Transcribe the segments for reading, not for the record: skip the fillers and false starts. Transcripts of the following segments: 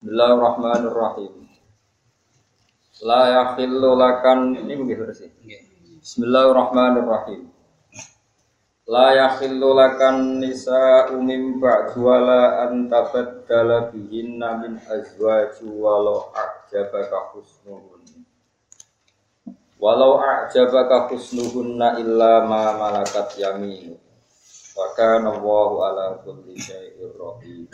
Bismillahirrahmanirrahim. La yakhillu lakan ini begitu sih. Bismillahirrahmanirrahim. La yakhillu lakan nisa'u min ba'du wala an tabaddala bihinna min azwaji walau a'jabaka husnuhunna illa ma malakat yaminu. Wa kana Allahu ala kulli syai'in raqib.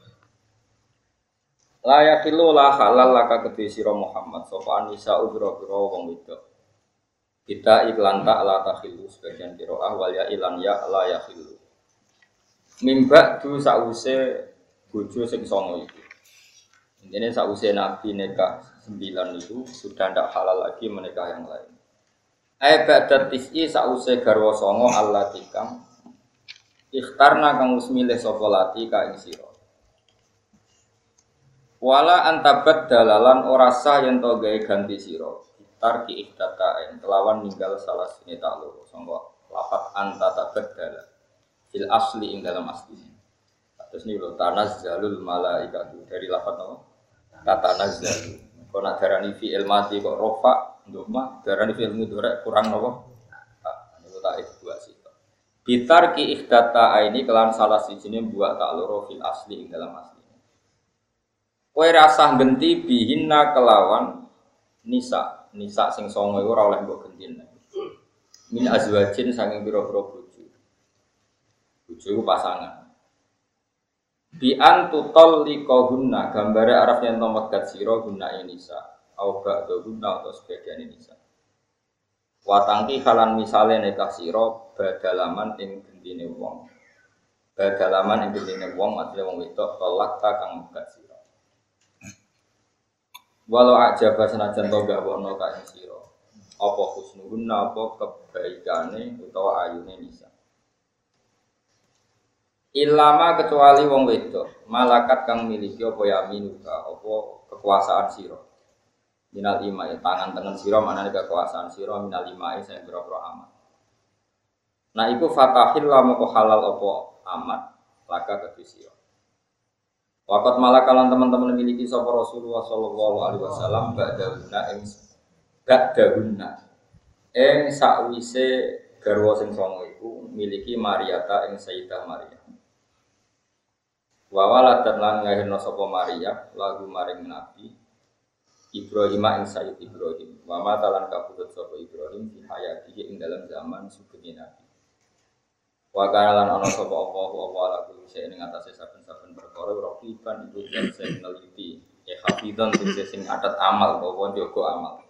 La yakhillu la halal laka kedhe sira Muhammad sapa nisa'u bira-bira wong wedok. Kita iklan tak la takhillu sebagian qiraah wal ya ilan ya la yakhillu. Mimba du sause bojo sing songo itu. Intine sause Nabi nikah 9 itu sudah ndak halal lagi menikah yang lain. Ba'da tis'i sause garwa songo allati kang ikhtarna kang wis milih sapa lati ka ing sira. Wala antabat dalalan ora sah yen to gawe ganti sira. Tarki ihtataen kelawan ninggal salah sini tak loro sangka lafat anta tabaddala fil asli ing dalam aslinya. Terus niku lho tanazzalul malaikatu dari lafat apa? Tatanazzalu. Kok nak darani fi'il madhi kok rafa ndoma darani fi'il mudhari kurang napa? Niku tak dua sih. Bitarki ihtataeni kelan salah sijine buat tak loro fil asli ing dalam asli. Kowe rasah genti bihinna kelawan nisa sing songo iku ora oleh mbok gentine. Min azwajin saking pira-pira bojo. Bojo iku pasangan. Bi an tutalliqahunna gambare arep yen to megat sira guna nisa au ba'da guna atau sebagian nisa. Watangki halan misale nekah sira badalaman ing gentine wong. Badalaman ing gentine wong atine wong wedok tolak ta kang megat sira. Walau ajaba senajan to gak wono ka ing sira apa husnuhunna apa kebaikane utawa ayune nisa ilama kecuali wong wedok malakat kang miliki apa yaminuka apa kekuasaan sira minal imai tangan tengen sira manane kekuasaan sira minal imai sing pira-pira amat nah iku fatahil lamu halal apa amat laka kedhi sira. Waqat malakalan teman-teman memiliki sapa Rasulullah sallallahu alaihi wasallam ba'dahunna ing sakwise garwa sing songo iku miliki Maryata ing Sayyidah Maryam. Wa waladat lan ngahirna sapa Maryam lagu maring Nabi Ibrahim ing Sayyid Ibrahim. Wa matalan kabudut sapa Ibrahim fi hayatihi ing dalam zaman sugeng Nabi. Wa kana lan ana sapa Allah ala kulli shay'in ing atase saben-saben perkara raqiban iku sing neliti hafizan sing adat amal utawa njogo amal.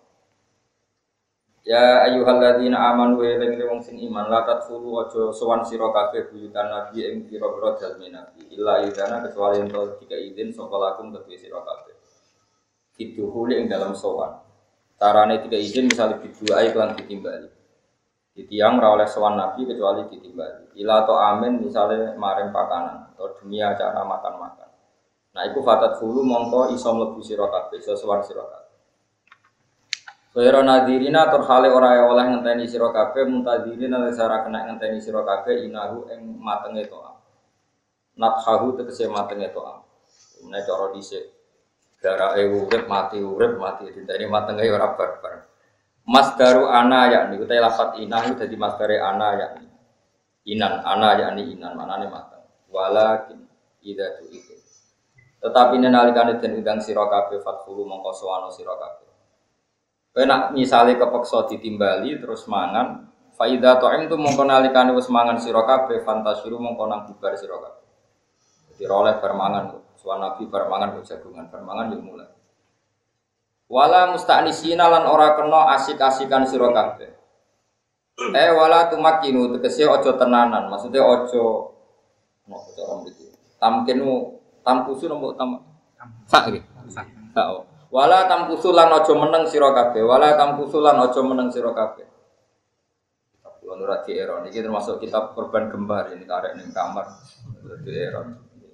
Ya ayyuhalladzina amanu wa eling wong sing iman la tadkhulu aja sowan sira kabeh buyutan nabi ing pira-pira dalem nabi illa idana kecuali ento tiga izin sapa lakum kedue sira kabeh. Kiduhule ing dalam sowan. Carane tiga izin misale diduai lan ditimbali. Ditiang ora oleh sowan nabi kecuali ditimbali. Ila to amin misale maring pakanan atau dunia acara makan-makan. Nah iku fatat fulu mongko iso mlebu sira kabeh, iso sowan sira kabeh. Kaya nadirina tur hale ora oleh ngenteni sira kabeh muntadirina sara kena ngenteni sira kabeh inahu ing matenge toa. Nathahu tegese matenge toa. Menawa cara dhisik darake urip mati dinteni matenge ora barbar. Masdaru ana yakni utai lafat inah itu dadi masdare ana yakni inan ana yakni inan manane mateng walakin idza tu itu tetapi nalikane den undang sira kabeh fathulu mongko sowana sira kabeh kowe nek misale kepeksa ditimbali terus mangan fa idza ta'imtu mongko nalikane wis mangan sira kabeh fantasiru mongko nang bubar sira kabeh dadi oleh bar mangan sowan nabi bar mangan jagungan bar mangan yo mulai wala musta'nisina lan ora kena asik-asikan sira kabeh. Wala tumakinu tegese aja tenanan, maksudnya aja nopo cara mriki. Tamkusu nopo sak iki. Sak. Wala tamkusu lan aja meneng sira kabeh, wala tamkusu lan aja meneng sira kabeh. Kulo ora di era niki termasuk kitab korban gembar ini karek ning kamar di era.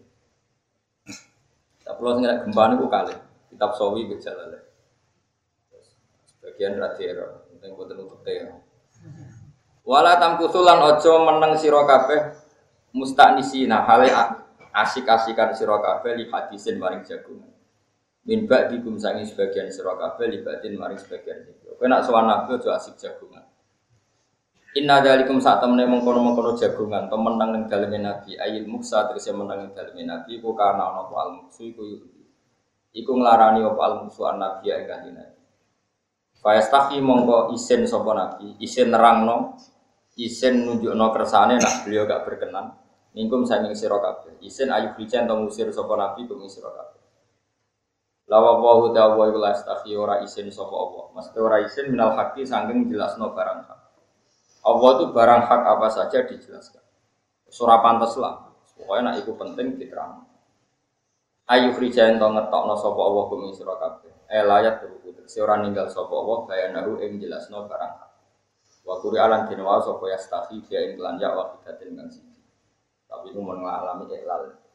Tapi lo sing gembar niku kalih kitab sawi bejalale. Bagian radhiara, penting boten untuk teh. Wala tamkusulan aja meneng sira kabeh musta'nisina hale asik-asikan sira kabeh li hadisin maring jagungan. Min ba'dikum sangi sebagian sira kabeh libatin maring sebagian sira. Kowe nak sowan nabi aja asik jagungan. Inna dzalikum sak temene mengkono-mengkono jagungan temen nang ning daleme nabi ayil muksa tegese menang ning daleme nabi iku kana ana apa al muksu iku nglarani apa al muksu an nabi ing kanjeng nabi. Fa yastahi mongko isin sapa nabi, isin nerangno, isin nunjukno kersane nak beliau gak berkenan. Mingkum sanging sira kabeh. Isin ayu bicen to ngusir sapa nabi kum sira kabeh. Lawa wa ta'ala iku lastahi ora isin sapa Allah. Mesti ora isin minal haqi saking jelasno barang hak. Allah itu barang hak apa saja dijelaskan. Surah pantas lah. Pokoknya nak iku penting diterang. Ayu rijaen to ngetokno sapa Allah kum sira kabeh. Layat teruku. Ora ninggal sapa Allah bayanahu ing jelasno barang hak. Wa Qur'an dinwa sapa yastahi dia ing lan ya wa kidatin kang siji. Tapi itu mun ngalami ihlal.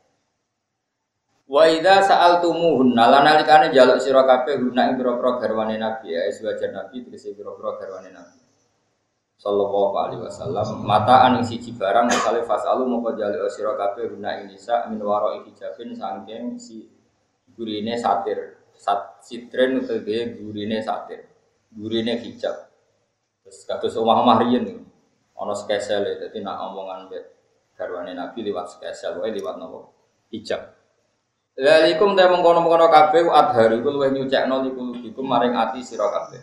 Wa idza sa'altumuhunna lan nalikane njaluk sira kabeh guna ing pira-pira garwane Nabi ya sewajan Nabi tegese pira-pira garwane Nabi sallallahu alaihi wasallam mataan ing siji barang misale fasalu moko njaluk sira kabeh guna ing nisa min wara'i hijabin saking si gurine satir sitren utawa gurine satir gurine hijab terus kados omah-omah riyen ana skesel dadi nak omongan garwane Nabi liwat skesel wae liwat napa hijab. Lalikum ta mengkono-mengkono kabeh adharu iku luwih nyucekno likulubikum maring ati sira kabeh.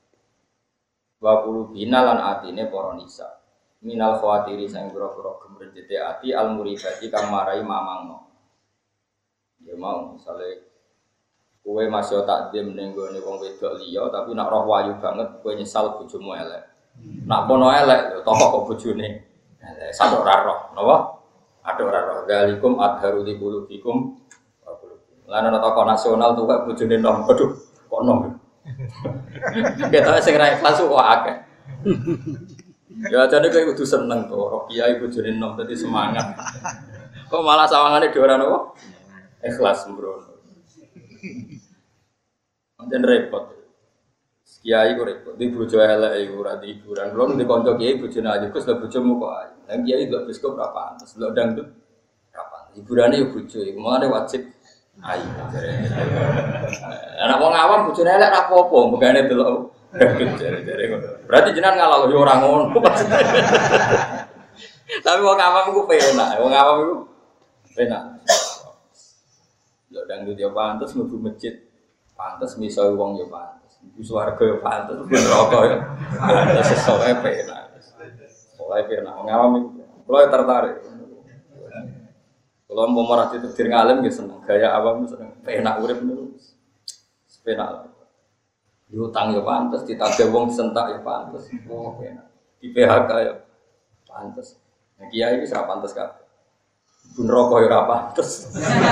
Wa qulubina lan atine para nisa. Minal khawatiri sang pira-pira gemrejete ati al muribati kang marai mamangno. Ya mau misale kowe masih takdim ning gone wong wedok liya tapi nak roh wayu banget kowe nyesal bojomu elek. Nak kono elek toh kok bojone elek sadok ora roh, napa? Adok ora roh. Lalikum adharu likulubikum lan ana tokoh nasional tuh kok bojone nom. Aduh, kok nom. Ketoke sing ra ikhlas kok akeh. Ya jane kowe kudu seneng to, roh kiai bojone nom dadi semangat. Kok malah sawangane dhewe ora napa? Ikhlas sembrono. Anjen repot. Kiai kok repot. Di bojo elek iku ora di hiburan. Kulo nek kanca kiai bojone ayu Gus lho bojomu kok ayu. Lah kiai lho bioskop ora pantes, lho dangdut ora pantes. Hiburane yo bojo iku mangane wajib ayo. Anak wong awam bojone elek ra apa-apa, mbegane delok. Jare-jare ngono. Berarti jenengan ngalah yo ora ngono. Tapi wong awam iku penak, wong awam iku penak. Yo dangdut yo pantes mlebu masjid. Pantes miso wong yo pantes. Ibu swarga yo pantes, neraka yo. Pantes sesuai penak. Pokoke penak wong awam iku. Kulo tertarik. Kalau mau marah itu diri ngalim gitu seneng, gaya awam seneng, penak urip terus, penak. Diutang ya pantas, ditagih wong disentak ya pantas, oh penak. Di PHK ya pantas. Nah kiai ini serap pantas kan? Bun rokok ya pantas.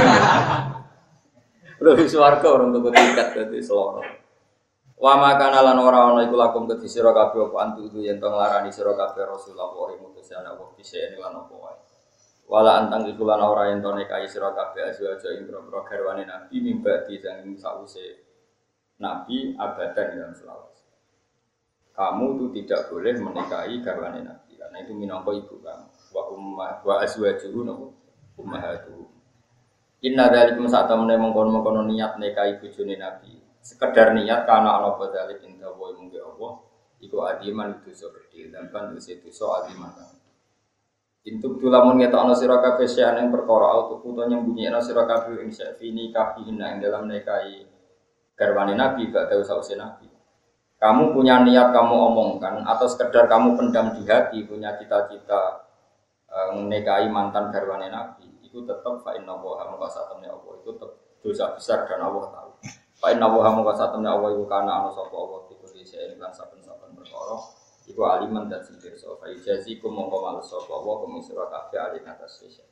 Lebih suarga orang tuh tiket jadi seloro. Wa makana lan ora ana iku lakum kedhi sira kabeh apa antu itu yen to nglarani sira kabeh Rasulullah wa mutusana wa bisa lan apa wae. Wala antang iku lan ora ento nekai sira kabeh aja ing boro garwane Nabi mimbati sang sause Nabi abadan dalam selawase. Kamu itu tidak boleh menikahi garwane Nabi karena itu minangka ibu kamu. Wa azwajuhu ummahatu. Inna dzalikum satamene mengkon-mengkon niat nikahi bojone Nabi. Sekedar niat karena ana badalik inda wa mungge Allah iku adiman dosa gedhe dan kan dosa adiman. Intuk tulamun ngetokno sira kabeh sing ing perkara auto utawa nyembunyikan sira kabeh ing safini kafihinna ing dalam nikahi garwane Nabi gak tahu sause Nabi. Kamu punya niat kamu omongkan atau sekedar kamu pendam di hati punya cita-cita nikahi mantan garwane Nabi itu tetap fa inna wa maqasatamnya Allah itu tetap dosa besar dan Allah tahu. Fa inna wa maqasatamnya Allah itu kana ana sapa Allah itu dise lan saben-saben perkara iku aliman dan singkir sofa ijazikum mongko males sapa wa kumisra kabeh alin atas spesial.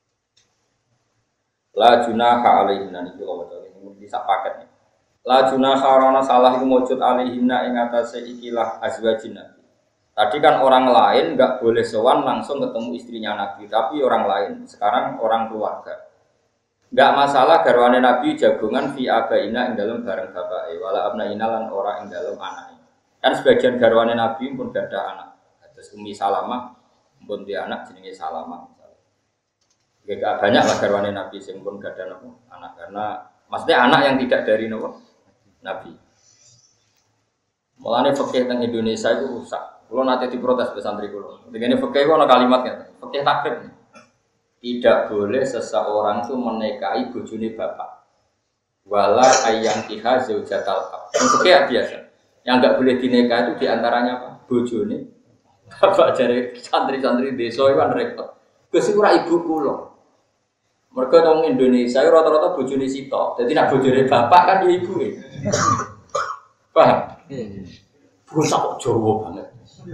La junaha alaihinna niki lho ini bisa paket nih. La junaha rana salah iku mujud alaihinna ing atase ikilah azwajin Nabi. Tadi kan orang lain enggak boleh sowan langsung ketemu istrinya Nabi, tapi orang lain. Sekarang orang keluarga. Enggak masalah garwane Nabi jagongan fi abaina ing dalem bareng bapake wala abnaina lan ora ing dalem anake. Kan sebagian garwane Nabi pun gak ada anak. Terus Ummi Salamah pun dia anak jenenge Salamah. Gak banyak lah garwane Nabi sing pun gak ada anak karena Maksudnya anak yang tidak dari Nabi. Mulane fikih teng Indonesia itu rusak. Kulo nanti diprotes ke santri kulo. Dengan fikih itu ada kalimatnya. Fikih takrib. Tidak boleh seseorang itu menikahi bojone bapak. Wala ayang kiha zaujatal ab. Fikih biasa. Yang enggak boleh dinikah itu diantaranya apa? Bojone bapak jare santri-santri desa itu kan repot. Gus iku ora ibu kula. Mergo wong Indonesia rata-rata bojone sitok. Dadi nek bojone bapak kan ya ibuke. Paham? Bocah kok Jawa banget.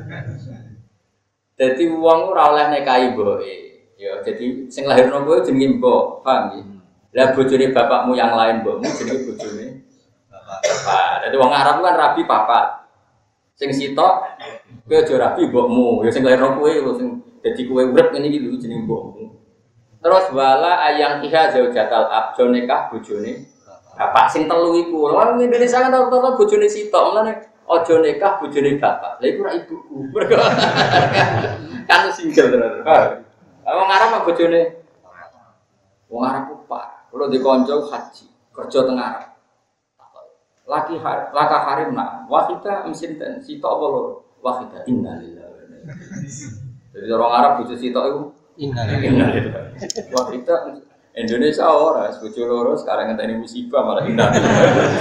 Dadi wong ora oleh nikahi mboke. Ya jadi sing lahirno kowe jenenge mbok, paham nggih? Lah bojone bapakmu yang lain mbokmu jenenge bojone bapak. Dadi wong Arab kan rabi papat. Sing sitok kowe aja rabi mbokmu, ya sing lahirno kowe lho sing dadi kowe urip ngene iki lho jenenge mbokmu. Terus wala ayang iha zaujatal ab nikah bojone bapak sing telu iku. Wong Indonesia kan rata-rata bojone sitok, mulane aja nikah bojone bapak. Lha iku ora ibuku. Kan single tenan. Wong Arab mah bojone wong Arab ku pak. Kulo di kanca haji, kerja teng Arab. Laka harim nak. Wahida mesin sitok apa loro? Wahida innalillahi. Jadi orang Arab bojo sitok iku innalillahi. Wahida Indonesia ora, bojo loro sekarang ngenteni musibah malah innalillahi.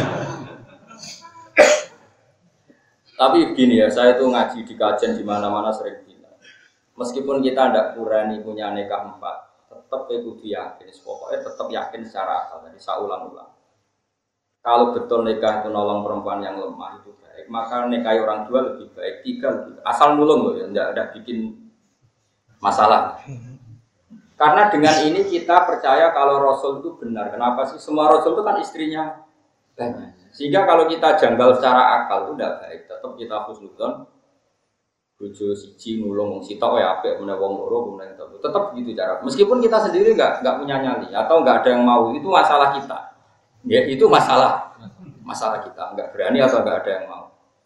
Tapi begini ya, saya itu ngaji di kajian di mana-mana sering bilang. Meskipun kita tidak kurani punya nikah 4, tetap kudu yakin. Pokoknya tetap yakin secara akal. Jadi saya ulang-ulang. Kalau betul nikah itu nolong perempuan yang lemah itu baik, maka nikahi orang 2 lebih baik, 3 lebih baik. Asal nulung loh ya, tidak ada bikin masalah. Karena dengan ini kita percaya kalau Rasul itu benar. Kenapa sih? Semua Rasul itu kan istrinya banyak. Sehingga kalau kita janggal secara akal itu tidak baik. Tetap kita husnudzon. Bojo siji nulung wong sitok ya apik meneh wong loro kemudian tetap begitu cara. Meskipun kita sendiri enggak punya nyali atau enggak ada yang mau, itu masalah kita. Ya itu masalah kita, enggak berani atau enggak ada yang mau.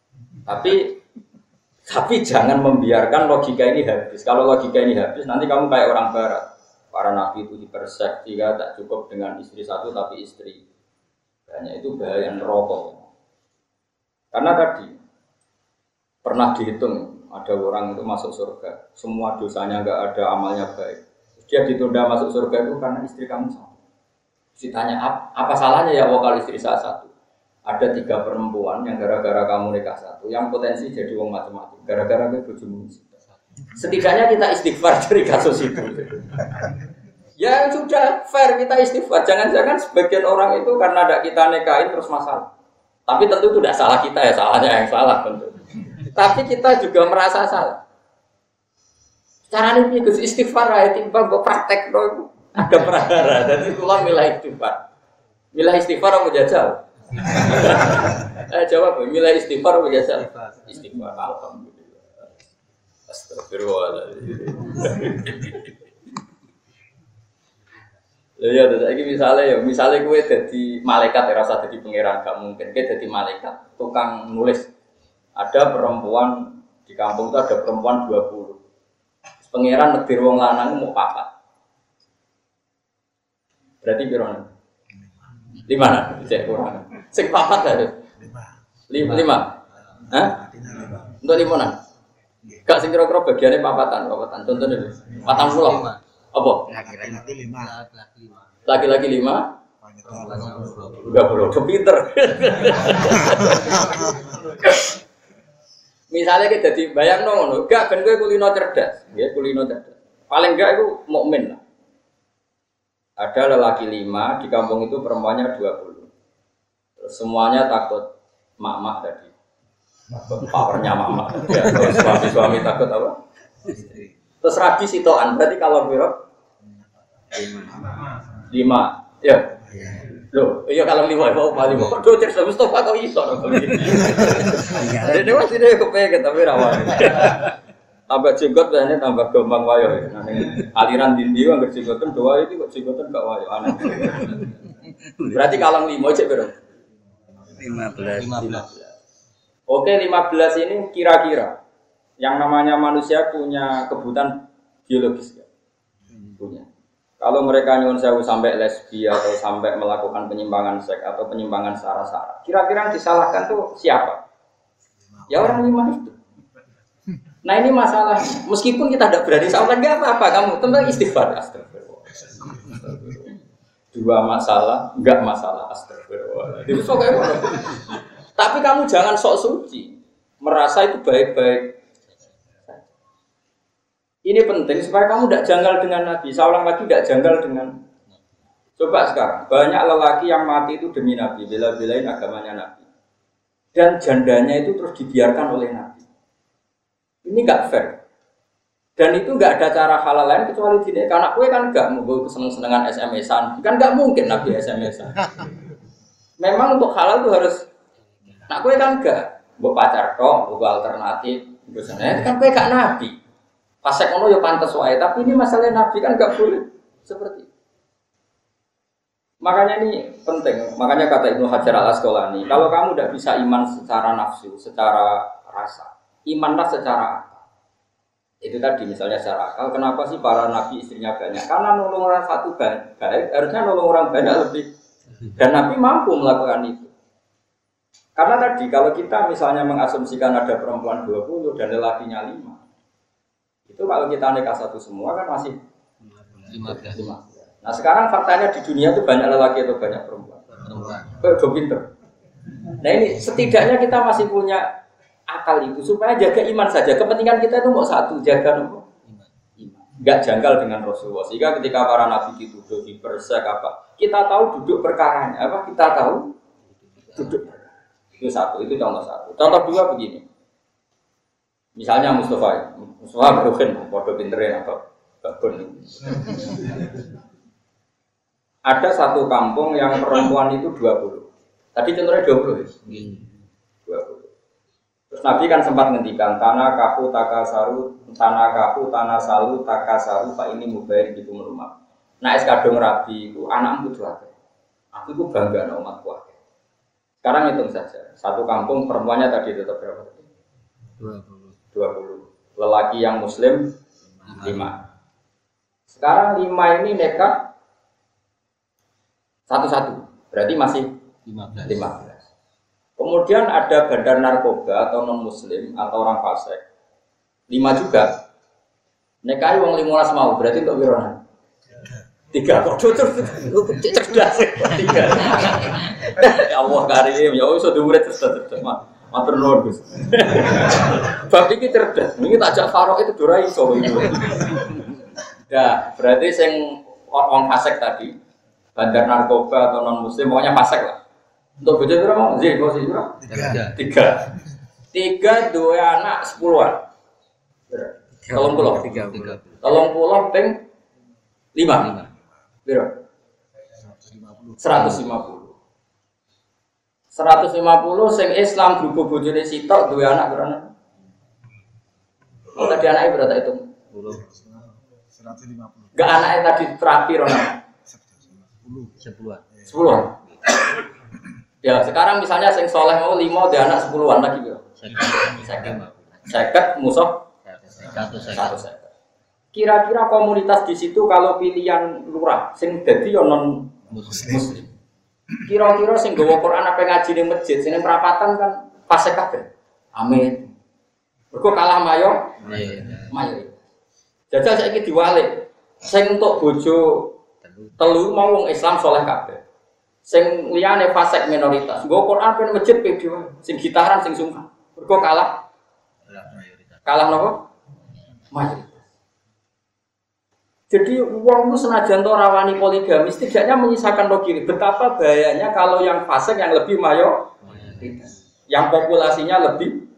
Tapi jangan membiarkan logika ini habis. Kalau logika ini habis nanti kamu kayak orang barat. Para nabi itu dipersek, jika tak cukup dengan istri satu tapi istri banyak, itu bahaya neraka. Karena tadi pernah dihitung ada orang itu masuk surga, semua dosanya enggak ada, amalnya baik. Dia ditunda masuk surga itu karena istri kamu satu. Ditanya apa salahnya ya kalau istri saya satu? Ada 3 perempuan yang gara-gara kamu nikah satu, yang potensi jadi wong macam-macam. Gara-gara gue bojomu. Setidaknya kita istighfar dari kasus itu. Ya sudah fair kita istighfar. Jangan-jangan sebagian orang itu karena ada kita nikahin terus masalah. Tapi tentu itu tidak salah kita ya, salahnya yang salah tentu. Tapi kita juga merasa salah. Caranya ini Gus istighfar ya timbang kok praktek dong. Ada perkara dan itulah milah istighfar. Milah istighfar apa jajal? Jawab, milah istighfar apa jajal? Istighfar. Alhamdulillah. Astagfirullahaladzim. Ya lagi misalnya gue jadi malaikat ya rasa jadi pangeran gak mungkin. Gue jadi malaikat tukang nulis. Ada perempuan di kampung itu ada perempuan 20. Pangeran negeri wong lanang mau 4. Berarti berapa? 5. Cek kurang. Sing 4 ada. 5. Hah? Untuk 5. Gak sing kira-kira bagiannya papatan. Contohnya 40. Apa? Laki-laki 5. Udah bro, pinter. Misalnya kita jadi bayang ngono, gak ben kowe kulino cerdas, nggih kulino cerdas. Paling enggak itu mukmin lah. Ada lelaki 5 di kampung itu perempuannya 20. Terus semuanya takut mak-mak tadi. Takut powernya mak-mak. Ya, terus suami takut apa? Terus rabi sitoan, berarti kalau berapa? 5. Ya. Loh, iya kalau 5 mau paling mau. Aduh, cek Mustafa kok iso to. Dene wis dene kepengin tapi ra wae. Tambah jenggot biasanya tambah gampang wayo. Nah, aliran dindi kan berjenggotan doa itu kok jenggotan gak wayo aneh. Berarti kalau 5 cek berapa? 15. Oke, 15 ini kira-kira yang namanya manusia punya kebutuhan biologis ya? Punya. Kalau mereka nyuwun sewu sampai lesbi atau sampai melakukan penyimpangan seks atau penyimpangan sara-sara, kira-kira yang disalahkan tuh siapa? Ya orang iman itu. Nah ini masalah. Meskipun kita tidak berani salah, nggak apa-apa. Kamu tentang istighfar, astagfirullah. Dua masalah, nggak masalah, astagfirullah. Itu sok kayak mana? Tapi kamu jangan sok suci, merasa itu baik-baik. Ini penting supaya kamu tidak janggal dengan Nabi. Saya ulang lagi, tidak janggal dengan. Coba sekarang, banyak lelaki yang mati itu demi Nabi, bela-belain agamanya Nabi. Dan jandanya itu terus dibiarkan oleh Nabi. Ini nggak fair. Dan itu nggak ada cara halal lain kecuali didik. Karena kue kan nggak mau seneng-senengan SMS-an. Kan nggak mungkin Nabi SMS-an. Memang untuk halal itu harus. Nah kue kan nggak. Mau pacar kok, mau alternatif. Biasanya kan kue gak Nabi. Pasek ono ya pantas wae, tapi ini masalah Nabi kan nggak boleh seperti itu. Makanya ini penting. Makanya kata Ibnu Hajar Al-Asqalani, kalau kamu tidak bisa iman secara nafsu, secara rasa, imanlah secara akal. Itu tadi misalnya secara akal. Kenapa sih para nabi istrinya banyak? Karena nolong orang satu baik, harusnya nolong orang banyak lebih. Dan Nabi mampu melakukan itu. Karena tadi kalau kita misalnya mengasumsikan ada perempuan 20 dan lelakinya 5. Itu kalau kita nikah satu semua kan masih 15. Nah sekarang faktanya di dunia itu banyak lelaki atau banyak perempuan? Udah pinter. Nah ini setidaknya kita masih punya akal itu supaya jaga iman saja. Kepentingan kita itu mau satu, jaga iman. Enggak janggal dengan Rasulullah. Sehingga ketika para nabi dituduh dipersek apa, kita tahu duduk perkaranya apa? Kita tahu duduk. Itu satu, itu contoh satu. Contoh dua begini. Misalnya Mustafa berukin, bodoh pinterin atau babon. Ada satu kampung yang perempuan itu 20. Tadi contohnya 20 ya? 20. Terus Nabi kan sempat ngendikan tanah kaku tanah salu takasaru pak ini mubair di rumah. Nah es kadung rabi itu anakmu tuh ada. Aku itu bangga sama umatku. Sekarang hitung saja. Satu kampung perempuannya tadi tetap berapa? 20. Lelaki yang muslim 5. Sekarang 5 ini nekat satu-satu. Berarti masih 15. Kemudian ada bandar narkoba atau non muslim atau orang fasik 5 juga. Nekai wong 15 mau berarti untuk wirona 3 kok cerdas 3. Ya Allah karim ya wis dhuwure cerdas matur nuwun Gus. Bab iki cerdas. Niki tak jak farok itu ora iso itu. Ya, berarti sing wong fasik tadi, bandar narkoba atau non muslim pokoknya fasik lah. Untuk bojo pira mau? Zin, kok pira? 3. 3 duwe anak 10-an. 30 ping 5. Pira? 150. 150 sing Islam grup bojone sitok duwe anak berapa? Oh tadi anaknya berapa itu? 150. Enggak anaknya tadi terakhir orang. 10. Ya sekarang misalnya sing soleh mau 5 dia anak 10-an lagi berapa? 50 musuh 100. Kira-kira komunitas di situ kalau pilihan lurah sing dadi yo non muslim. Kira-kira sing nggawa Quran apa ngaji ning masjid, sing perapatan kan fasik kabeh. Amin. Mergo kalah mayo. Jajal saiki diwalik. Sing untuk bojo telu mau wong Islam saleh kabeh. Sing liyane fasik minoritas. Nggawa Quran pen masjid pede wae. Sing gitaran sing sungkan. Mergo kalah. Kalah napa? Mayoritas. Jadi uang itu senajan to rawani poligami, setidaknya menyisakan logika. Betapa bahayanya kalau yang fasik yang lebih mayoritas, yang populasinya lebih.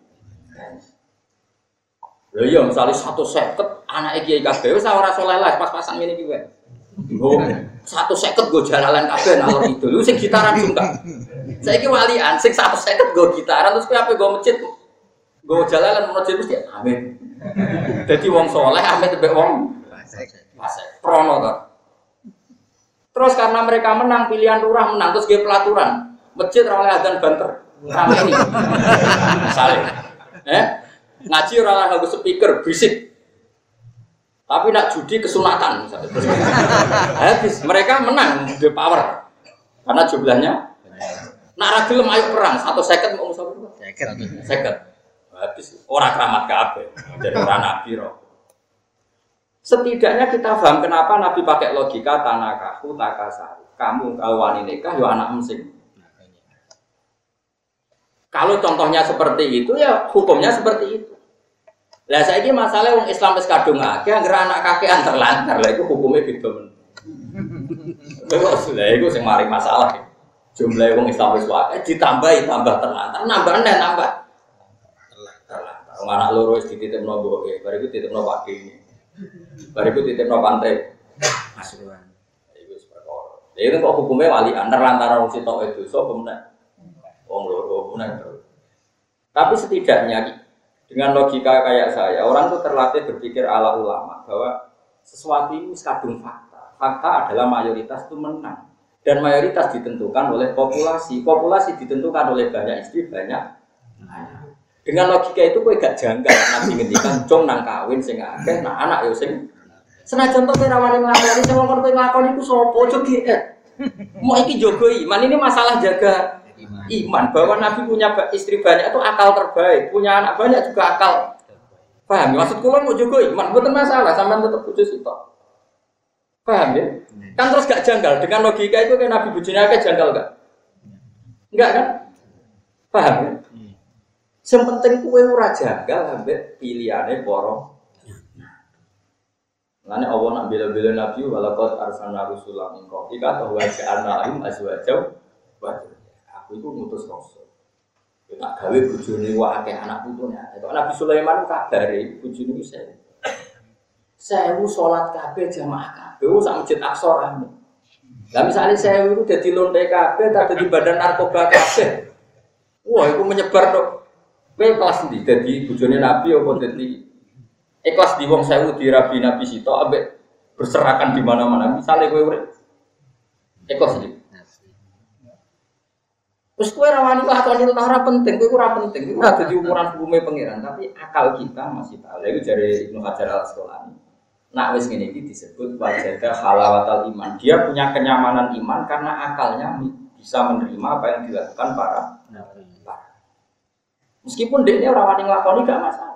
Loh iya, misalnya 150 anak kiai kabeh, wis ora saleh lah pas-pasan ngene iki wae. Nggo 150 go jalalan kabeh nalor itu. Lu sing gitaran juga. Saiki walian sing 150 go gitaran terus kowe ape go masjid. Go jalalan masjid mesti amin. Dadi wong saleh amin mbek wong prono toh. Terus karena mereka menang pilihan lurah menang terus ge pelaturan. Masjid ora oleh adzan banter. Rame iki. Misale. Ngaji ora oleh nggo speaker bisik. Tapi nak judi kesunatan misalnya. Habis mereka menang the power. Karena jumlahnya nak ra gelem ayo perang 1 second mau musuh. Second. Habis ora keramat kabeh. Jadi ora nabi roh. Setidaknya kita paham kenapa Nabi pakai logika tanakahu takasari. Kamu kalau wani nikah ya anak mesing. Kalau contohnya seperti itu ya hukumnya seperti itu. Lah saiki masalah wong Islam wis kadung akeh anggere anak kakean terlantar. Lah iku hukume beda men. Lha iku sing mari masalah. Jumlah wong Islam wis akeh ditambahi tambah terlantar, nambah neh nambah. Terlantar. Wong anak loro wis dititipno mboke, bar iku dititipno pakine. Bar iku dititipno pantai. Masukan. Iku wis perkara. Lha itu kok hukume walian terlantar wong sitok itu dosa apa meneh? Wong loro meneh. Tapi setidaknya dengan logika kayak saya, orang tuh terlatih berpikir ala ulama bahwa sesuatu ini kadung fakta. Fakta adalah mayoritas itu menang. Dan mayoritas ditentukan oleh populasi. Populasi ditentukan oleh banyak istri, banyak anak. Dengan logika itu kowe gak janggal Nabi ngendikan jong nang kawin sing akeh, nah anak yo sing senajan to ora wani nglakoni sing wong kowe nglakoni iku sapa aja giat. Mau iki jaga iman, ini masalah jaga iman. Bahwa Nabi punya istri banyak itu akal terbaik, punya anak banyak juga akal. Paham? Maksud kula mau jaga iman, mboten masalah, sampean tetep bojo sitok. Paham ya? Kan terus gak janggal dengan logika itu kan Nabi bojone akeh janggal enggak? Enggak kan? Paham ya? Yang penting kowe ora janggal ambek pilihane para. Lane Allah nak bela-bela Nabi walaqad arsalna rusulan min qablika wa ja'alna lahum azwajan wa aku itu ngutus rasul. Tak gawe bojone wae akeh anak putune. Kok Nabi Sulaiman kabare bojone wis 1000 salat kabeh jamaah kabeh sak masjid Aqsa rame. Lah misale 1000 itu dadi lonte kabeh ta dadi badan narkoba kabeh. Wah, iku menyebar tok. Kowe kelas ndi dadi bojone Nabi apa dadi ikhlas di wong 1000 di rabi Nabi sitok ambek berserakan di mana-mana. Misale kowe urip ikhlas iki. Terus kowe ora wani lakoni ora penting, kowe ora penting. Iku ora dadi ukuran hukume pangeran, tapi akal kita masih tahu. Lha iku jare Ibnu Hajar Al-Asqalani. Nak wis ngene iki disebut wajada halawatal iman. Dia punya kenyamanan iman karena akalnya bisa menerima apa yang dilakukan para nabi. Meskipun dekne ora wani nglakoni gak masalah.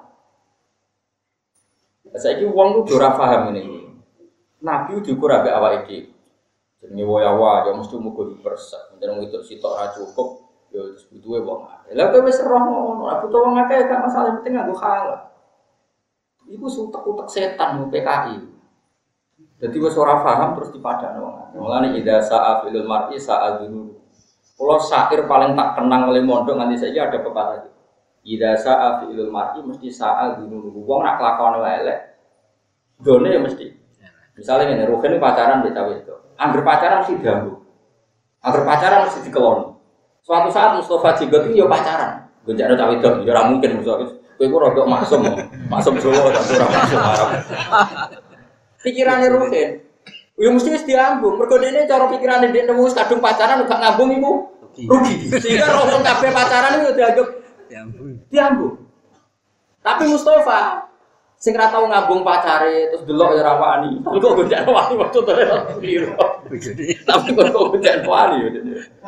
Saiki wong ku ora paham ngene. Nabi diukur ambek awake dhewe. Jenenge wayawa ya mesti mugo dipersek. Menjen itu sitok ora cukup ya wis butuhe wong akeh. Lah kowe wis roh ngono, ora butuh wong akeh gak masalah penting nganggo halal. Iku sutek-utek setan PKI. Jadi wis ora paham terus dipadakno wong. Mulane idza sa'a fil mar'i sa'a dulu. Kalau syair paling tak kenang oleh mondok nganti saiki ada pepatah. Idza sa'a fil mar'i mesti sa'a dulu. Wong nak lakone elek. Done ya mesti. Misalnya ngene, Ruhin pacaran mbek cawe itu. Angger pacaran mesti diambu. Angger pacaran mesti dikelon. Suatu saat Mustafa Jigot itu ya pacaran. Gonjakno cawe itu ya ora mungkin Mustafa. Kowe ku rodok maksum. Maksum Jawa ta ora maksum Arab. Pikirane Ruhin. Ya mesti wis diambung. Mergo dene cara pikirane dhek nemu wis kadung pacaran gak ngambung iku rugi. Sehingga roh kabeh pacaran itu dianggap diambung. Tapi Mustafa sing ra tau ngambung pacare terus delok ya ra wani. Kok gonjakno wani waktu terus biru. Tapi kok gonjakno wani ya.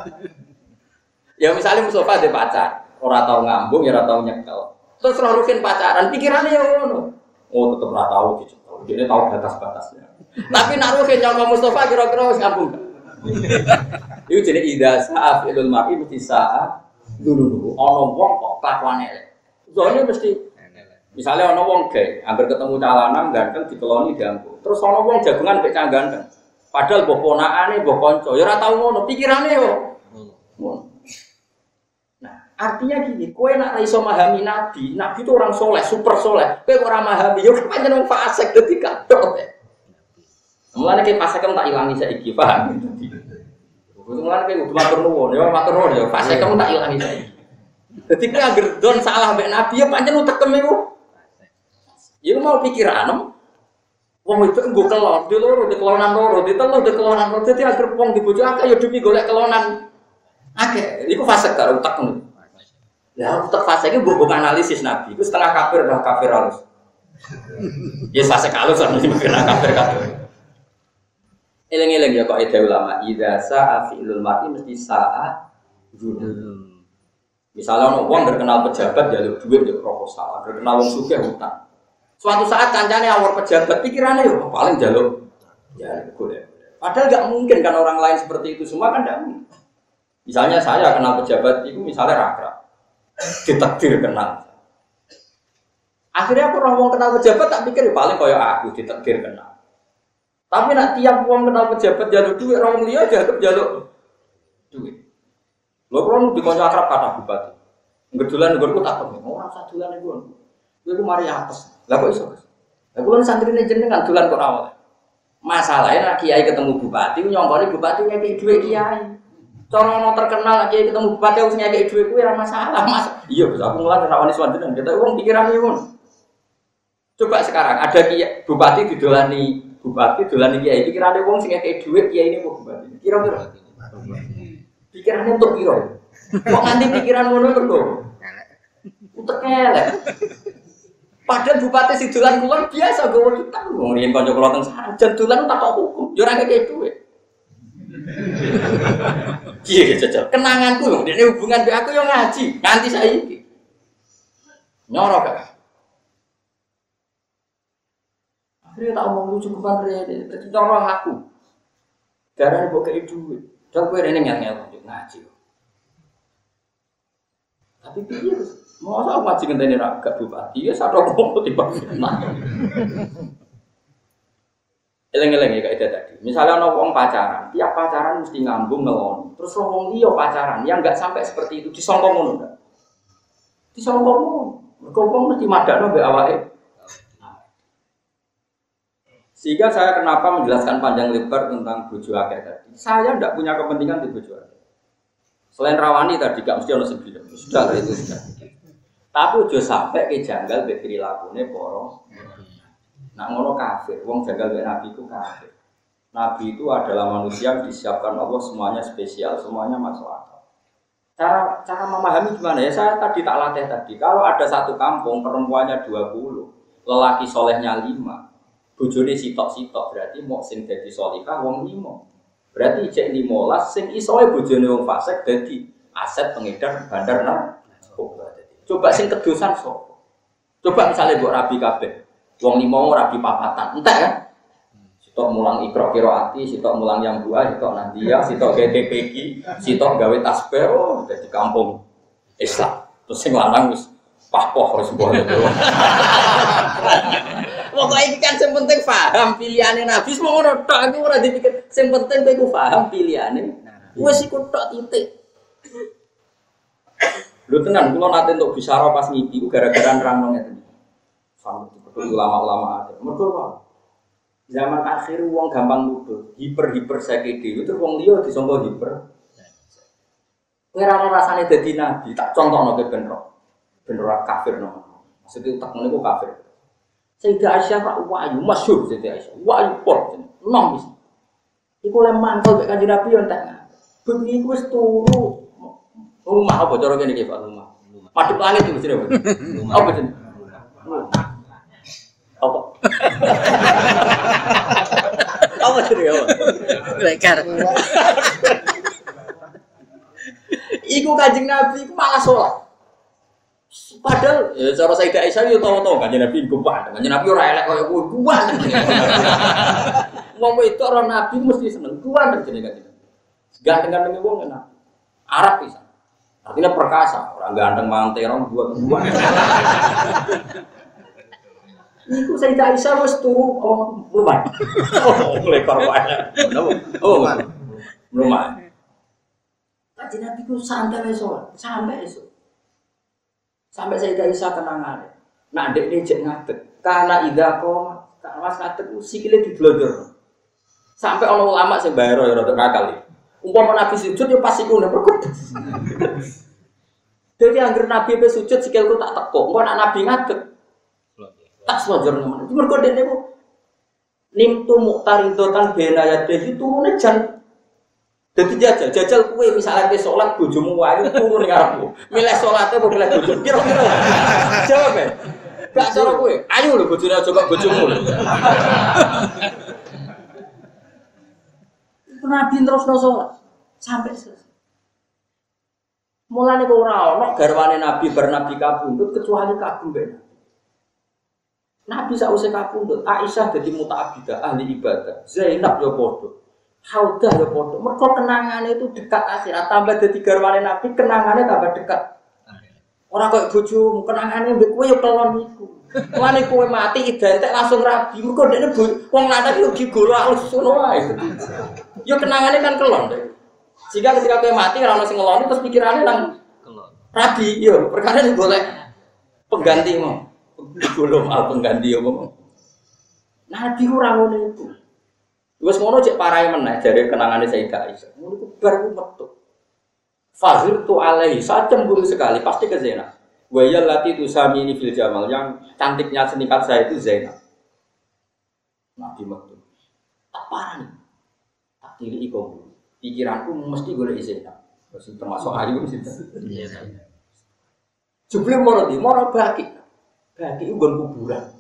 Ya misalnya Mustafa dhe pacar, ora tau ngambung ya ora tau nyekel. Terus roh Rukin pacaran, pikirannya ya ngono. Oh tetep ora tau dicekel. Dene tau batas-batasnya. Tapi nak Rukin nyangka Mustafa kira-kira wis ngambung. Iku jenenge idza sa'a filul mar'i mesti sa'a dulu. Ana wong kok kelakuane elek. Zone mesti misalnya ana wong gay, hampir ketemu calanan ganteng dikeloni diambung. Terus ana wong jagungan mek cah ganteng. Padahal mbok ponakane, mbok kanca, ya ora tau ngono, pikirane yo. Ngono. Artinya gini, kowe nak iso memahami Nabi itu orang soleh, super soleh. Kowe ora memahami, yo pancen wong fasik dadi kadok. Mulane ki fasik tak ilangi saiki, paham? Mulane ki kudu matur nuwun, yo matur nuwun yo fasik tak ilangi saiki. Dadi kowe anggere don salah mbek Nabi yo pancen utekem iku. Iku mau pikiran wong itu nggo kelon, di loro, di kelonan loro, di telu, di kelonan loro. Dadi anggere wong dibojo akeh yo demi golek kelonan akeh. Iku fasik karo utek ngono. Ya, utek fase iki mbok analisis Nabi. Iku setengah kafir dah kafir halus. Ya fase kalus kan mesti kena kafir kabeh. Eleng-eleng ya kok ide ulama, idza sa'a fi'lul mar'i mesti sa'a dzul. Misalnya ono wong terkenal pejabat njaluk duit yo proposal, terkenal wong sugih utang. Suatu saat kancane awor pejabat pikirannya yo paling njaluk ya boleh. Padahal enggak mungkin kan orang lain seperti itu semua kan enggak mungkin. Misalnya saya kenal pejabat itu misalnya rakrab. Ditakdir kenal. Akhirnya aku orang kenal pejabat tak pikir paling kaya aku ditakdir kenal. Tapi nak tiap wong kenal pejabat jaluk duit orang liya jaluk duit. Lho kalau dikonco akrab kata bupati. Ngedulan nggonku tak temen. Ora usah dulan nggon. Kowe mari apes. Lah kok iso? Lah kula santrine jenengan dulan kok awal. Masalahnya nak kiai ketemu bupati nyongkone bupati ngekeki duit kiai. Cara ono terkenal kiai ketemu bupati wis ngekeki duit kuwi ora masalah, Mas. Iya, Gus, aku mulan ora wani swanten. Kita wong pikirane ngono. Coba sekarang ada kiai bupati didolani bupati dolani kiai pikirane wong sing ngekeki duit kiai ini kok bupati. Kira-kira pikirannya untuk kira. Kok nganti pikiran ngono terus? Utek elek. Padahal bupati si dolan kulon biasa gowo utang. Wong riyen kanca kula teng Sarjan dolan tak kok hukum. Ya ora ngekeki duit. Iya jajal. Kenanganku lho, dekne hubungan mbek aku yo ngaji nganti saiki. Nyorok gak? Akhirnya tak omong lucu kupan rene, dadi nyorok aku. Darane mbok kei duit. Dan kowe rene ngel-ngel ngaji. Tapi piye Gus? Masa ngaji ngenteni ra gak bupati ya sadok kok tiba fitnah. Eleng-eleng ya kaidah tadi. Misalnya ana wong pacaran, tiap pacaran mesti ngambung ngeloni. Terus wong liya pacaran yang enggak sampai seperti itu disangka ngono enggak? Disangka ngono. Mergo wong mesti madakno mbek awake. Sehingga saya kenapa menjelaskan panjang lebar tentang bojo akeh tadi. Saya tidak punya kepentingan di bojo akeh. Selain rawani tadi gak mesti ono sing bilang. Sudah lah itu sudah. Tapi ojo sampai ke janggal mbek prilakune para. Nak ngono kafir, wong janggal mbek nabi ku kafir. Nabi itu adalah manusia yang disiapkan Allah semuanya spesial, semuanya masuk akal. Cara memahami gimana ya? Saya tadi tak latih tadi. Kalau ada satu kampung perempuannya 20, lelaki solehnya 5. Bojone sitok-sitok berarti mau sing dadi salihah wong 5. Berarti cek 15 sing isoe bojone wong fasik dadi aset pengedar bandar narkoba. Coba sing kedosan sapa? Coba misalnya mbok rabi kabeh. Wong 5 rabi papatan. Entek kan? Sitok mulang Iqra qiraati, sitok mulang yang dua, sitok Nadia, sitok GTPG, sitok gawe tasbih dadi kampung Islam. Terus sing lanang wis pahpoh wis mbok. Pokoknya ini kan yang penting paham pilihannya Nabi. Semua orang tak, aku orang dipikir yang penting aku paham pilihannya. Wes ikut tak titik. Lu tenan, kalau nanti untuk bicara pas ngipi, gara-gara nerang nongnya tadi. Sama seperti ulama-ulama ada. Mereka apa? Zaman akhir uang gampang nuduh, hiper sakit itu uang dia disangka hiper. Ngerana rasanya jadi Nabi, tak contoh nongke benro kafir nong. Maksudnya tak menengku kafir. Sayyidah Aisyah rak wahyu masyhur Sayyidah Aisyah. Wahyu pol nom wis. Iku le mantel mek Kanjeng Nabi yo entek. Bengi iku wis turu. Rumah apa cara kene iki Pak rumah. Madhep langit iki jenenge. Apa jenenge? Apa? Apa jenenge? Lekar. Iku Kanjeng Nabi iku malah salat. Padahal ya cara Sayyidah Aisyah yo tau-tau Kanjeng Nabi gumpal. Kanjeng Nabi ora elek koyo kuwi. Kuat. Ngomong itu orang Nabi mesti seneng. Kuat jenenge Kanjeng Nabi. Ganteng-ganteng wong enak. Arab pisan. Artinya perkasa, orang ganteng manterong buat-buat. Iku Sayyidah Aisyah wis turu rumah. Lekor wae. Oh. Rumah. Kanjeng Nabi ku santai esuk, sampai esuk. Sampai Sayyidah Aisyah kenangan. Nak ndek dijek ngadeg. Karena idza qoma, Mas ngadeg sikile diblodor. Sampai ana ulama sing bayar ya rada kakal iki. Umpama Nabi sujud ya pas iku nek perkut. Dadi anggere Nabi pe sujud sikilku tak tekuk. Engko nek Nabi ngadeg tak selojor nemen. Mergo dene ku nimtu muqtaridotan benayadeh turune jan. Dadi jajal kowe misalnya ke salat bojomu wae turu ning ngarepmu. Milih salate apa milih bojomu? Kira-kira. Jawab e. Gak cara kowe. Ayo lho bojone aja kok bojomu lho. Nabi terusno salat sampai selesai. Mulane kok ora ana garwane Nabi bernabi kabundut kecuali kabung mbek. Nabi sausé kabundut, Aisyah dadi muta'abbidah ahli ibadah, Zainab yo padha. Haudah yo padha. Mergo kenangane itu dekat akhirat, tambah dadi garwane Nabi, kenangane tambah dekat. Ora koyo bojomu, kenangane mbek kowe yo kelon iku. Mulane kowe mati identik langsung rabi, mergo dekne wong lanang yo gigolo alus ngono wae. Yo kenangane kan kelon. Jika ketika kowe mati ora ono sing ngeloni terus pikirane nang kelon. Rabi yo perkara golek penggantimu. Belum al pengganti apa. Nabi ora ngono iku. Wis ngono cek parahe meneh jare kenangane Sayyidah Aisyah. Ngono iku bar metu. Fazir tu alaihi cemburu sekali pasti ke Zainab. Wa yallati tusamini fil jamal yang cantiknya senikat saya itu Zainab. Nabi metu. Tak parani. Tak tiri iku. Pikiranku mesti golek Zainab. Wis termasuk ayu mesti. Iya. Jebule moro baki. Baki itu kuburan.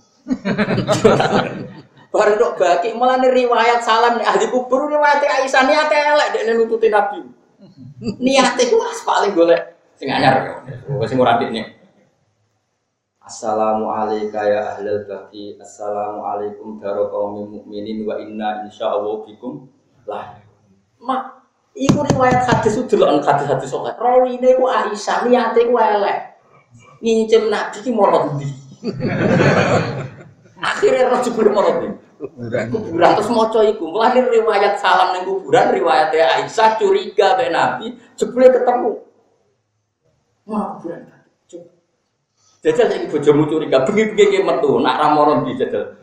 Baru dok baki malah nih riwayat salam nih ahli kubur riwayat Aisyah niate elek dekne nututi Nabi. Niate ku paling golek sing anyar. Wis ora ndekne. Assalamu alayka ya ahlal baqi. Assalamu alaikum daraqaumil mukminin wa inna insyaallah bikum lah. Mak iku riwayat hadis udelok hadis-hadis sok. Rawine ku Aisyah niate ku elek. Ngincim Nabi ki molot ndi. Akhirnya roh jebule marane. Kuburan terus maca iku. Mulane riwayat salam ning kuburan riwayat Aisyah curiga be Nabi jebule ketemu. Wah, kuburan. Jajal iki bojomu curiga bengi-bengi ki metu nak ra moron di jajal.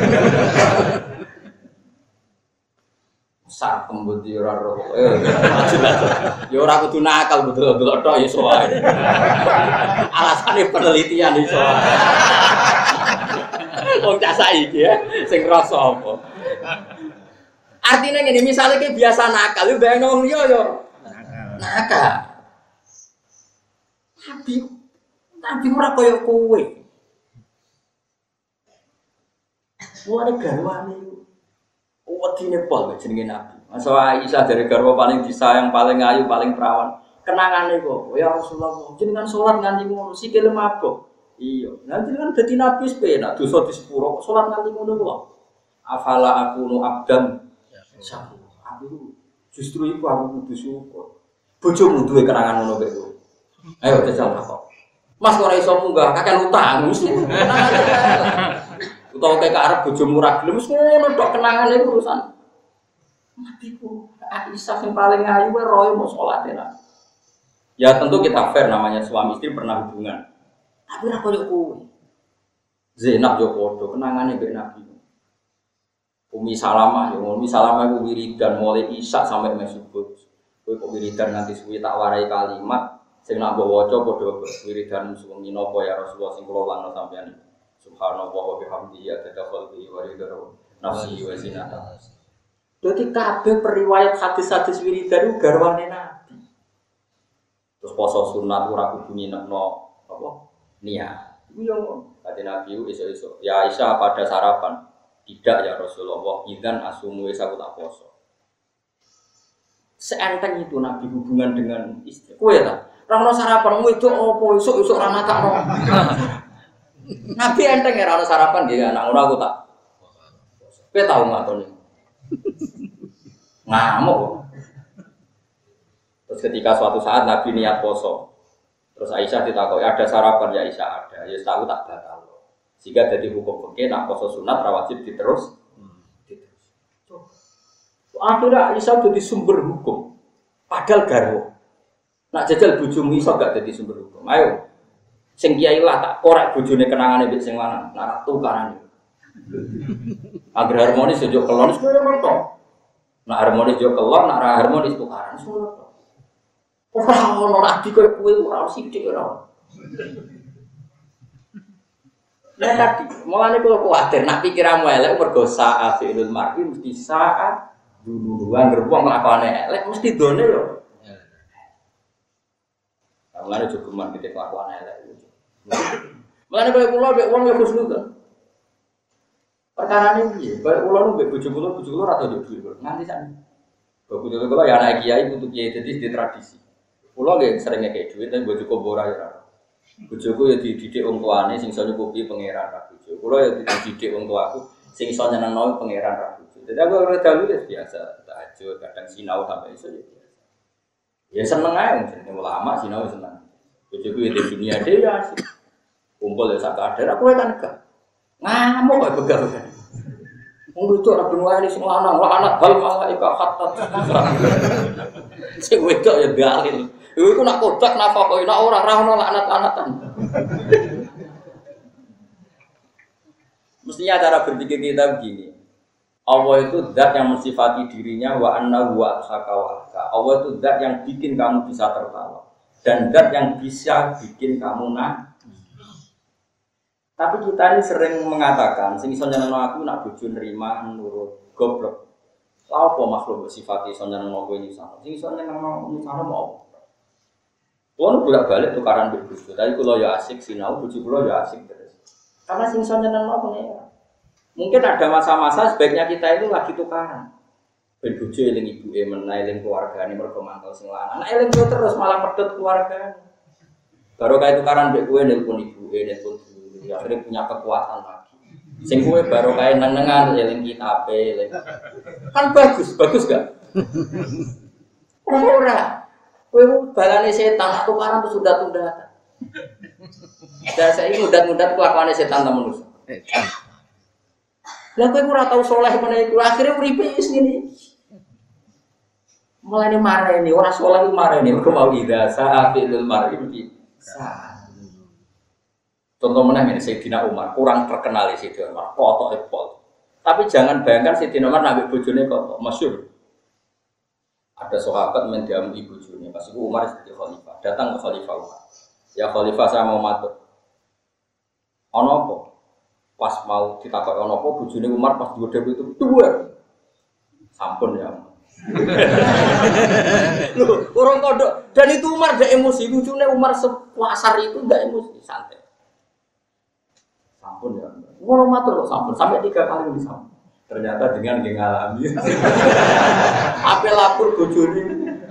Sak kembut yo ora roh. Ya ora kudu nakal betul-betul tok ya iso wae. Alasane penelitian iso. Wong cah saiki ya sing rasa apa. Artinya ngene misale ki biasa nakal yo bayangno wong liya yo nakal. Tapi ora koyo kowe. Wong garwane wedine pol jenenge Nabi. Masa Aisyah dari garwa paling disayang, paling ayu, paling perawan. Kenangane kok, ya Rasulullah, jenengan salat nganti ngono sikile mabuk. Iya, nanti kan dadi nabi sepenak dosa di sepuro kok salat nganti ngono kok. Afala akunu abdan. Aku justru iku aku kudu syukur. Bojomu duwe kenangan ngono kok. Ayo jajal kok. Mas kok ora iso munggah kakek utang mesti. Utawa kek arep bojomu ra gelem wis ngono tok kenangane urusan. Nabiku Aisyah yang paling ayu roy mau sholat ya. Ya tentu kita fair namanya suami istri pernah hubungan. Tapi ra koyo kowe. Zainab yo padha kenangane mbek Nabi. Umi Salamah yo Umi Salamah iku wiridan mulai isya sampai subuh. Kowe kok wiridan nganti suwi tak warai kalimat sing nak mbok waca padha wiridan suwengi napa ya Rasulullah sing kula langno sampeyan. Subhanallah wa bihamdihi adada khalqihi wa ridha nafsihi wa zinata. Dadi kabeh periwayat hadis-hadis wiridan iku garwane Nabi. Terus poso sunat ora kudu nginepno apa? Niat. Iku yo kate Nabi esuk-esuk. Ya Aisyah pada sarapan. Tidak ya Rasulullah, idzan asumu wis aku tak poso. Seenteng itu Nabi hubungan dengan istri. Kowe ta? Ora ono sarapan wedok opo esuk-esuk ora matakno. Nabi enteng ya ora ono sarapan nggih anak ngono aku tak. Kowe tau ngatoni. Ngamuk. Terus ketika suatu saat Nabi niat poso. Terus Aisyah ditakoki ada sarapan ya Aisyah ada. Ya tahu tak batal. Jika jadi hukum fikih nak poso sunat ra wajib diterus. Akhirnya Aisyah jadi sumber hukum. Padahal garwo. Nak jajal bojomu iso gak jadi sumber hukum. Ayo. Sing kiai lah tak korek bojone kenangane mbek sing lanang. Nak tukarane. Agar harmonis yo kelon wis koyo ngono. Nak harmonis yo kelon, nak ra harmonis tukaran ngono. Ora ono rabi koyo kowe ora sithik ora. Lah tadi, mulane kula kuwatir nak pikiranmu elek mergo saat fi'lul mar'i mesti saat duluan gerbong nglakone elek mesti done yo. Mulane jogeman kita kelakuan elek. Mulane kowe kula mbek wong ya husnudzon. Perkarane piye? Kowe kula nu mbek bojo kula ora tau duwe nganti sakniki. Bojo kula ya anak kiai untuk kiai dadi di tradisi. Kula nggih sering ngekek dhuwit tapi bojo kok ora ya. Bojoku ya dididik wong tuane sing iso nyukupi pangeran ra bojo. Kula ya dididik wong tuaku sing iso nyenengno pangeran ra bojo. Dadi aku ora dalu ya biasa, tahajud, kadang sinau sampai iso ya biasa. Ya seneng ae jenenge ulama sinau seneng. Bojoku ya di dunia dhewe ya asik. Kumpul ya sak kadar aku kan enggak. Ngamuk kok begal-begal. Wong itu ora benwani sing lanang, anak hal malaika hatta. Sing wedok ya dalil. Iku nak kodak napa kok nek ora ono laknat-laknatan. Mestinya cara berpikir kita begini. Allah itu zat yang mensifati dirinya wa annahu wa asaka. Allah itu zat yang bikin kamu bisa tertawa dan zat yang bisa bikin kamu Tapi kita ini sering mengatakan sing iso nyenengno aku nak bojo nrima nurut goblok. Lha apa makhluk sifati iso nyenengno kowe iki sama. Sing iso nyenengno misalnya mau Wong bolak-balik tukaran mbek bojo. Tapi kula ya asik sinau, bojo kula ya asik terus. Karena sing iso nyenengno pengen. Mungkin ada masa-masa sebaiknya kita itu lagi tukaran. Ben bojo eling ibuke meneh eling keluargane mergo mantel sing lanang. Nek eling terus malah pedhot keluargane. Baru kayak tukaran mbek kowe nelpon ibuke, nelpon ya akhirnya punya kekuatan lagi. Sing kowe baru kayak nenengan eling kitabe, eling. Kan bagus gak? Ora. Kowe balane setan tukaran terus sudah-sudah. Dan saya ini mudat-mudat kelakuane setan ta manusa. Lah kowe ora tau saleh meneh iku akhire uripe wis ngene. Mulane mareni ora saleh iku mareni mergo mau ida sa'atil mar'i sa. Contoh meneh ngene Sayyidina Umar kurang terkenal Sayyidina Umar kotoke pol. Tapi jangan bayangkan Sayyidina Umar nambah bojone kok masyhur. Ada sahabat mendiam ibu bojone pas iku Umar jadi khalifah. Datang ke khalifah Umar. Ya khalifah saya mau matur. Ono apa? Pas mau ditakoki ono apa bojone Umar pas digodhog itu dua. Sampun ya. Loh, orang kodok dan itu Umar gak emosi, lucunya Umar sepuasar itu gak emosi, santai. Sampun ya. Ngono matur kok sampun sampai 3 kali disampun. Ternyata dengan ngalami. Ape lapor bojone.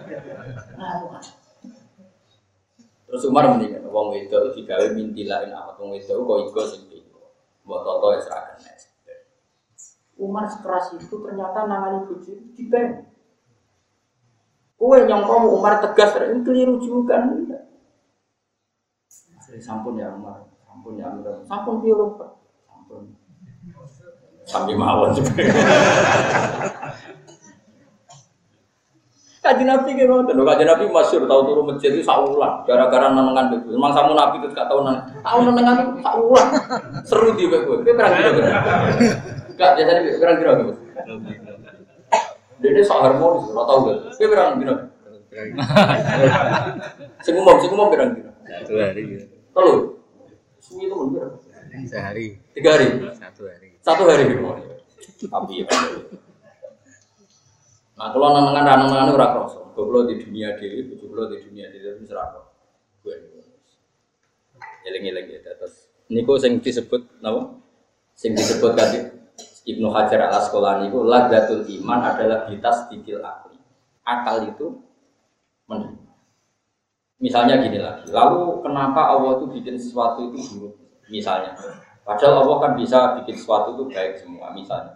Terus Umar mendingan wong wedok digawe mintilain awak wong wedok kok iku sing iku. Mbok toto wis ra kena. Umar sekeras itu ternyata nangani bojone dibeng. Kowe nyangka Umar tegas ini keliru juga. Sampun ya Umar. Sampun ya Umar. Sampun piye lho, Pak? Sampun. Sampai mawon juga. Kajian Nabi ki ngoten lho, kajian Nabi masyhur tau turu masjid itu saulan gara-gara nenengan itu. Memang samu Nabi itu gak tau nenengan itu saulan. Seru di kowe. Kowe perang kira-kira. Gak biasane perang kira-kira. Dene sak harmonis ora tau gak. Kowe perang kira. Sing umum perang kira. 1 hari. Telu. Suwi itu mun sehari. 3 hari. 1 hari. Tapi ya. Nah, kalau nenengan ora kroso. Goblok di dunia dhewe, goblok di dunia dhewe wis ora kroso. Eling-eling ya terus. Niku sing disebut napa? Sing disebut tadi Ibnu Hajar Al-Asqalani itu ladatul iman adalah bitasdikil akli. Akal itu menerima. Misalnya gini lagi. Lalu kenapa Allah itu bikin sesuatu itu buruk? Misalnya. Padahal Allah kan bisa bikin sesuatu itu baik semua. Misalnya.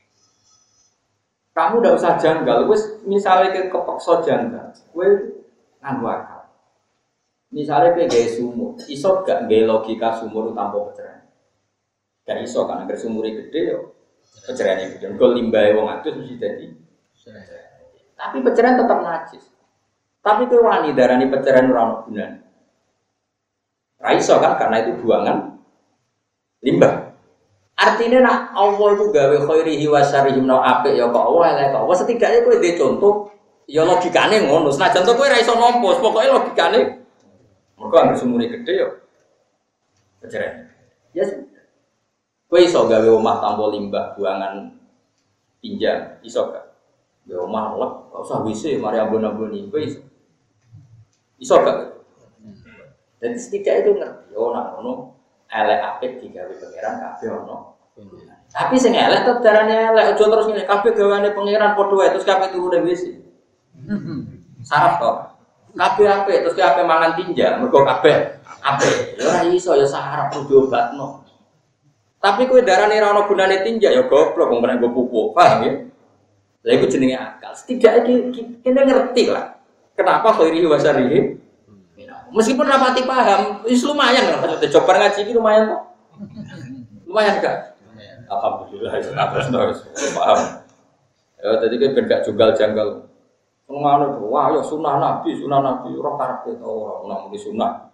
Kamu udah usah janggal, misalnya kepeksa janggal, gue nganggo akal. Misalnya kayak gaya sumur, iso gak gaya logika sumur tanpa pencerahan? Gak iso kan, agar sumurnya gede yo, pencerahannya gede. Kalau limbah wong atus mesti jadi. Tapi pencerahan tetap najis. Tapi itu wani darani pencerahan ora gunane. Ra iso kan karena itu buangan limbah. Artinya nak Allah itu gawe khairihi wa syarrihi menawa apik ya kok Allah elek kok. Wes setidaknya kowe ndek contoh ya logikane ngono. Senajan to kowe ra iso nampa, pokoke logikane mergo anggere sumure gedhe ya. Keceren. Ya sudah. Kowe iso gawe omah tanpa limbah buangan pinjam, iso gak? Gawe omah lek gak usah WC mari ambon-amboni kowe iso. Iso gak? Dan setidaknya itu ngerti, oh nak ngono elek apik digawe pangeran kabeh ono. Tapi sing elek tetep darane elek, aja terus ngene kabeh gaweane pangeran padha wae terus kabeh turu ning WC. Saraf to. Kabeh apik terus kabeh mangan tinja, mergo kabeh apik. Ya ora iso ya saraf kudu diobatno. Tapi kowe darane ora ono gunane tinja ya goblok wong ora nggo pupuk, paham ya? Lah iku jenenge akal. Setidaknya kita ngerti lah. Kenapa khairihi wa syarrihi? Meskipun rapati paham, wis lumayan lah. Maksudnya coba ngaji iki lumayan kok. Lumayan enggak? Alhamdulillah terus paham. Ya tadi kan ben gak junggal-janggal. Ngono wah ya sunah Nabi ora karepe to ora muni sunah.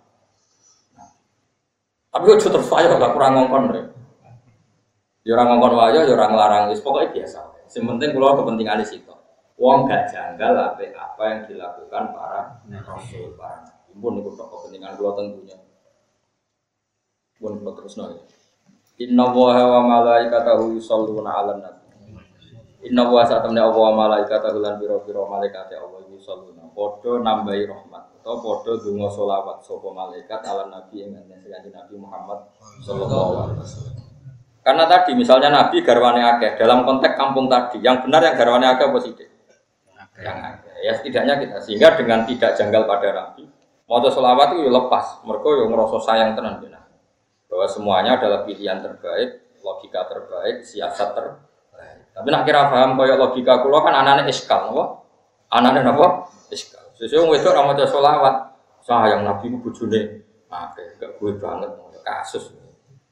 Tapi kok terus wae gak kurang ngongkon rek. Ya ora ngongkon wae ya ora nglarang wis pokoke biasa. Yang penting kalau kepentingan di situ, uang gak janggal apa yang dilakukan para rasul, para nabi. Pun itu kepentingan kalau tentunya. Pun terus nol. Inna wa malaikatahu yusholluna 'alan nabi. Inna wa satamna wa malaikatahu lan biro-biro malaikat Allah yusholluna. Padha nambahi rahmat atau padha donga selawat sapa malaikat 'alan nabi ing Nabi Muhammad sallallahu alaihi wasallam. Karena tadi misalnya Nabi garwane akeh dalam konteks kampung tadi, yang benar yang garwane akeh apa sithik? Yang akeh. Ya setidaknya kita sehingga dengan tidak janggal pada Nabi, maca selawat itu lepas, mergo yo ngrasa sayang tenan ben. Bahwa semuanya adalah pilihan terbaik, logika terbaik, siasat terbaik. Tapi nak kira paham kaya logika kula kan anane iskal, napa? Anane napa? Iskal. Sesuk wong wedok ora maca selawat, sayang Nabi ku bojone akeh, gak kuwe banget kasus.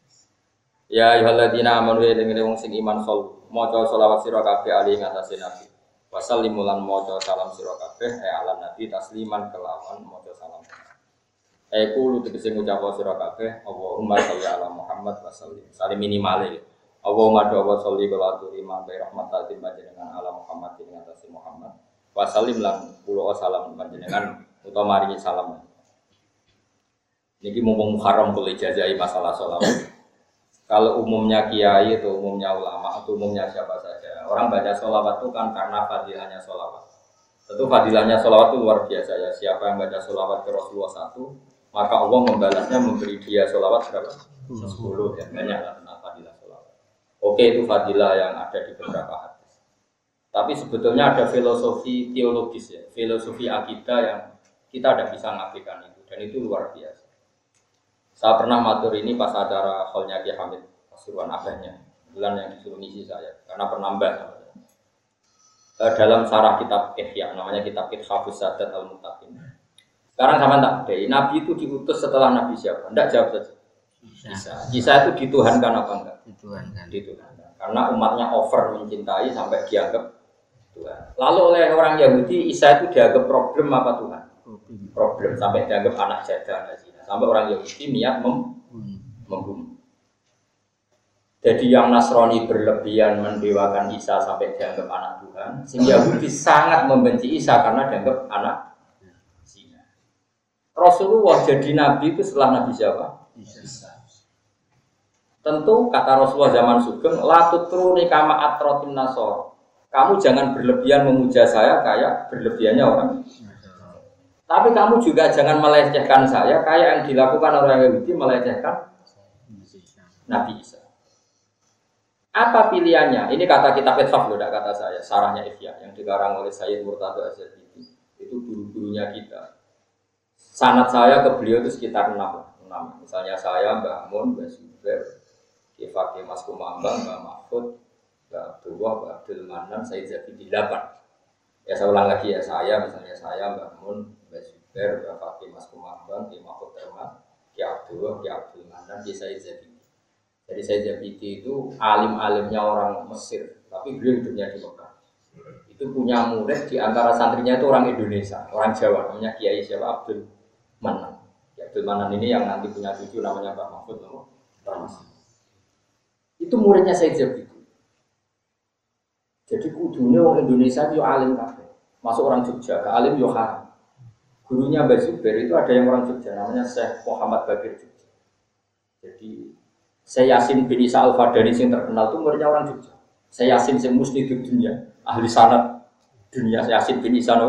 Ya ayyuhalladzina amanu eling-eling wong sing iman sol maca selawat sira kabeh ali ing atase nabi. Wasallimu lan maca salam sira kabeh ala nabi tasliman kelawan maca salam. Kulo tegese ngucap sira kabeh Allahumma sholli ala Muhammad wa sallim. Salim minimale. Allahumma sholli wa aturi ma bi rahmatil panjenengan ala Muhammad ing atase Muhammad. Wa sallim lan kula salam panjenengan utawa maringi salam. Niki mumpung Muharram kula ijazahi masalah selawat. Kalau umumnya kiai atau umumnya ulama atau umumnya siapa saja, orang baca sholawat itu kan karena fadilahnya sholawat. Tentu fadilahnya sholawat itu luar biasa ya. Siapa yang baca sholawat ke Rasulullah 1, maka Allah membalasnya memberi dia sholawat berapa? 10 ya, banyak lah tentang fadilah sholawat. Oke, itu fadilah yang ada di beberapa hadis. Tapi sebetulnya ada filosofi teologis ya, filosofi akidah yang kita tidak bisa ngapikan itu, dan itu luar biasa. Saya pernah matur ini pas acara Kholnya Ki Hamid Pasuruan abahnya, bulan yang disuruh ngisi saya, karena penambah dalam sarah kitab Ihya, namanya kitab Ithafus Sadat Al-Muttaqin. Sekarang sama tak deh, Nabi itu diutus setelah Nabi siapa? Tidak jawab saja. Isa itu dituhankan apa enggak? Dituhankan. Karena umatnya over mencintai sampai dianggap Tuhan. Lalu oleh orang Yahudi, Isa itu dianggap problem apa Tuhan? Problem sampai dianggap anak jadah. Sampai orang Yahudi niat membunuh. Jadi yang Nasrani berlebihan mendewakan Isa sampai dianggap anak Tuhan, sehingga Yahudi sangat membenci Isa karena dianggap anak zina. Rasulullah jadi nabi itu setelah Nabi siapa? Isa. Tentu kata Rasulullah zaman sugeng, la tutruni kama atrotin nasor. Kamu jangan berlebihan memuja saya kayak berlebihannya orang. Tapi kamu juga jangan melecehkan saya kayak yang dilakukan orang Yahudi melecehkan Nabi Isa. Apa pilihannya? Ini kata kitab Ithaf loh, tidak kata saya. Sarahnya Ihya yang dikarang oleh Sayyid Murtado Az-Zabidi. Itu guru-gurunya kita. Sanad saya ke beliau itu sekitar 6. Misalnya saya, Mbah Mun, Mbah Zubair, Kifaki Mas Kumambang, Mbah Mahfud, Mbah Abdullah, Mbah Abdul Manan, Sayyid Zabidi 8. Ya saya ulang lagi ya, saya misalnya saya, Mbah Mun, Mbah Zubair, Mbah Fakih Mas Kumambang, Mbah Mahfud Termas, Ki Abdullah, Ki Abdul Manan, Ki Sayyid Zabidi. Jadi Sayyid Zabidi itu alim-alimnya orang Mesir, tapi beliau hidupnya di Mekah. Itu punya murid di antara santrinya itu orang Indonesia, orang Jawa, namanya Kiai siapa? Abdul Manan. Ki Abdul Manan ini yang nanti punya cucu namanya Mbah Mahfud Termas. Itu muridnya Sayyid Zabidi. Jadi kudunya orang Indonesia itu alim kabeh. Masuk orang Jogja, ke alim yo haram. Gurunya Mbah Zubair itu ada yang orang Jogja, namanya Syekh Muhammad Bakir Jogja. Jadi Saya Yasin bin Isa Al-Fadani yang terkenal itu muridnya orang Jogja. Saya Yasin yang musnidud dunia, ahli sanad dunia. Yasin bin Isa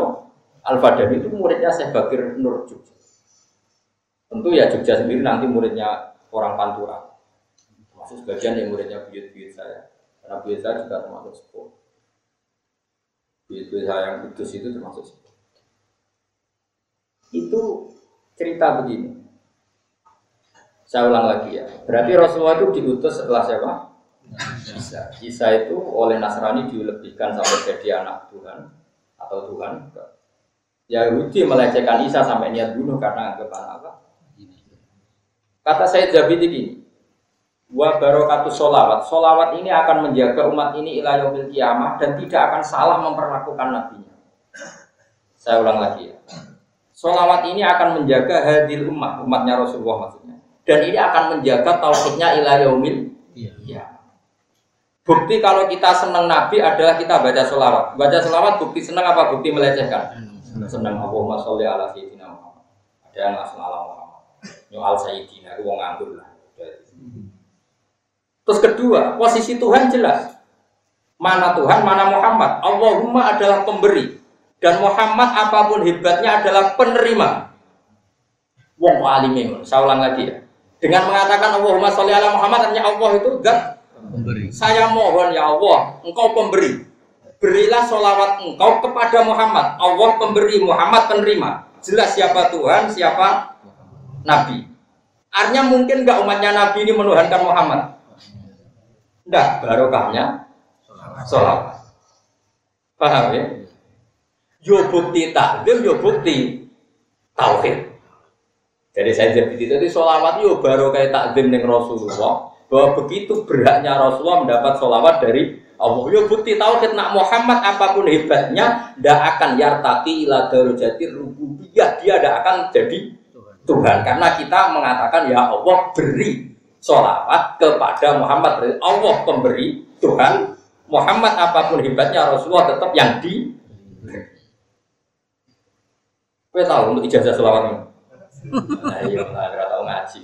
Al-Fadani itu muridnya Syekh Bakir Nur Jogja. Tentu ya Jogja sendiri nanti muridnya orang Pantura. Termasuk sebagian yang muridnya buyut-buyut saya. Karena buyut saya juga termasuk sepuh. Buyut-buyut saya yang kudus itu termasuk sepuh. Itu cerita begini. Saya ulang lagi ya. Berarti Rasulullah itu diutus setelah siapa? Isa. Isa itu oleh Nasrani dilebihkan sampai jadi anak Tuhan atau Tuhan. Yahudi melecehkan Isa sampai niat bunuh karena anggapan apa? Kata Sayyid Zabidi gini, wa barokatus sholawat. Sholawat ini akan menjaga umat ini ila yaumil qiyamah dan tidak akan salah memperlakukan nabinya. Saya ulang lagi ya. Sholawat ini akan menjaga hadil umatnya Rasulullah maksudnya. Dan ini akan menjaga tauhidnya ila yaumil qiyamah. Bukti kalau kita senang Nabi adalah kita baca sholawat. Baca sholawat bukti senang apa bukti melecehkan? Senang Allahumma sholli ala sayyidina Muhammad. Ada yang langsung ala Muhammad. Nyual sayyidina itu wong nganggur lah. Terus kedua, posisi Tuhan jelas. Mana Tuhan, mana Muhammad. Allahumma adalah pemberi dan Muhammad apapun hebatnya adalah penerima. Wong kok alime. Saya ulang lagi ya. Dengan mengatakan Allahumma sholli ala Muhammad artinya Allah itu zat pemberi. Saya mohon ya Allah, Engkau pemberi. Berilah sholawat Engkau kepada Muhammad. Allah pemberi, Muhammad penerima. Jelas siapa Tuhan, siapa Nabi. Artinya mungkin enggak umatnya Nabi ini menuhankan Muhammad. Enggak, barokahnya sholawat. Paham ya? Yo bukti takdim, yo bukti tauhid. Jadi saya jadi itu sholawat yo barokah takdim dengan Rasulullah. Bahwa begitu beratnya Rasulullah mendapat sholawat dari Allah. Yo bukti tauhid nak Muhammad apapun hebatnya tidak akan yartaqi ila darajati rububiyah, dia tidak akan jadi Tuhan karena kita mengatakan ya Allah beri sholawat kepada Muhammad. Allah pemberi Tuhan, Muhammad apapun hebatnya Rasulullah tetap yang di. Kowe tahu untuk ijazah sholawat ini? Nah iya, nggak tahu ngaji.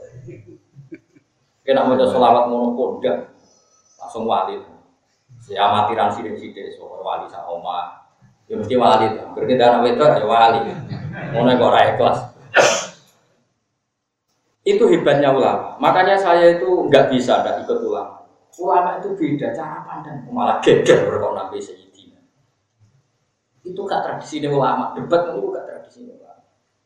Kena mau sholawat monopoda langsung wali. Ya amatiran sidik-sidik soal wali sak omah. Ya mesti wali tuh. Berkita anak wedok ya wali. Ngono kok ora ikhlas. Itu hebatnya ulama. Makanya saya itu enggak bisa enggak ikut ulama. Ulama itu beda cara pandang. Malah geger kok nabi sayyidina. Itu gak tradisi ulama. Debat itu gak tradisi ulama.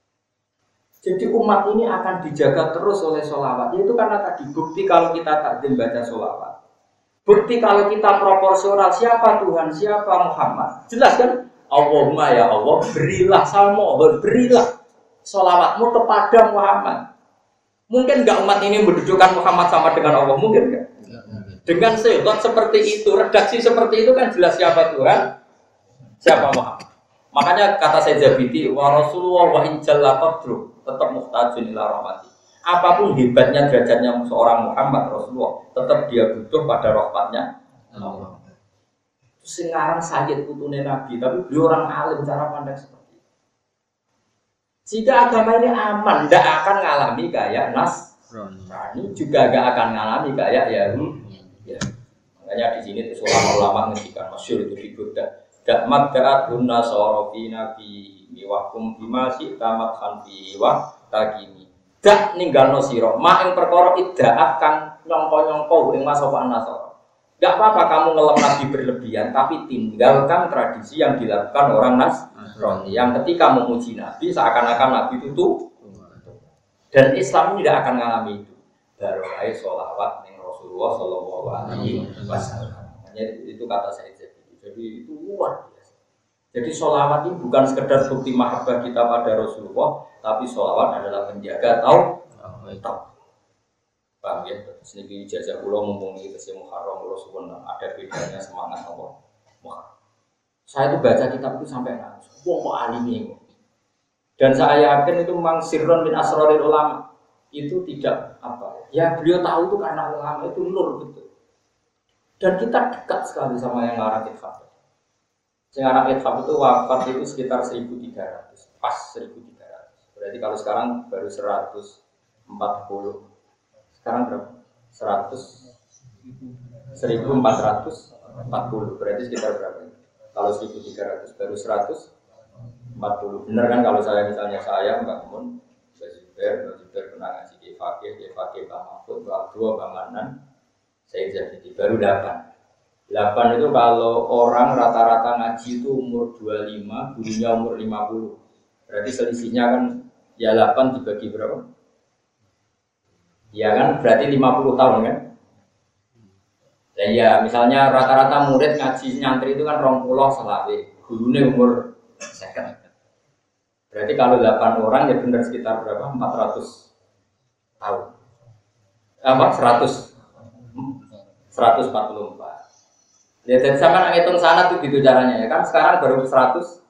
Jadi umat ini akan dijaga terus oleh sholawat. Itu karena tadi bukti kalau kita takdim baca sholawat. Bukti kalau kita proporsional siapa Tuhan, siapa Muhammad. Jelas kan? Allahumma ya Allah, berilah salmo, berilah sholawatmu kepada Muhammad. Mungkin enggak umat ini mendudukan Muhammad sama dengan Allah? Mungkin enggak? Dengan sifat seperti itu, redaksi seperti itu kan jelas siapa Tuhan, siapa Muhammad. Makanya kata Sayyid Zabidi, wa Rasulullah wa injalla qadru tetap muhtajun ila rahmati. Apapun hebatnya derajatnya seorang Muhammad Rasulullah, tetap dia butuh pada rahmatnya Allah. Sekarang sakit putune Nabi, tapi beliau orang alim cara pandang seperti itu. Jika agama ini aman, tidak akan ngalami kayak Nasrani, juga tidak akan ngalami kayak Yahudi. Ya. Makanya di sini tuh ulama-ulama ngendikan masyhur itu di Buddha. Dakmat da'atun nasorofi nabi miwakum bimasi tamat hanfi wa takimi. Dak ninggalno sira mak ing perkara iddaat kang nyongko-nyongko ing masopan nasara. Enggak apa-apa kamu ngelem nabi berlebihan, tapi tinggalkan tradisi yang dilakukan orang Nasrani yang ketika memuji nabi seakan-akan nabi itu tuh. Dan Islam tidak akan mengalami itu. Barokai sholawat ning Rasulullah sallallahu alaihi wasallam. Itu kata saya jadi itu luar biasa. Jadi sholawat ini bukan sekedar bukti mahabbah kita pada Rasulullah, tapi sholawat adalah penjaga tauhid. Paham ya? Sini ijazah kula mumpung iki tesih Muharram kula suwun ada bedanya semangat Allah. Muharram. Saya itu baca kitab itu sampai nangis. Wong kok alime. Dan saya yakin itu memang sirron min asrarul ulama. Itu tidak apa. Ya beliau tahu itu karena ulama itu nur betul. Dan kita dekat sekali sama yang ngarang Ithaf. Yang ngarang Ithaf itu wafat itu sekitar 1300, pas 1300. Berarti kalau sekarang baru 140. Sekarang berapa? 1440. Berarti sekitar berapa? Kalau 1300 baru 140. Benar kan kalau saya misalnya saya Mbak Mun, Mbak Zubair pernah ngaji di Fakih pakai Pak Mahfud, Pak Dua, Pak Manan, saya jadi baru 8. 8 itu kalau orang rata-rata ngaji itu umur 25, gurunya umur 50. Berarti selisihnya kan ya 8 dibagi berapa? Ya kan berarti 50 tahun kan? Dan ya misalnya rata-rata murid ngaji nyantri itu kan 20 selawe, gurunya umur 50. Berarti kalau 8 orang ya benar sekitar berapa? 400 tahun. Apa? 144. Ya jadi sama ngitung sana tuh gitu caranya ya kan sekarang baru 140.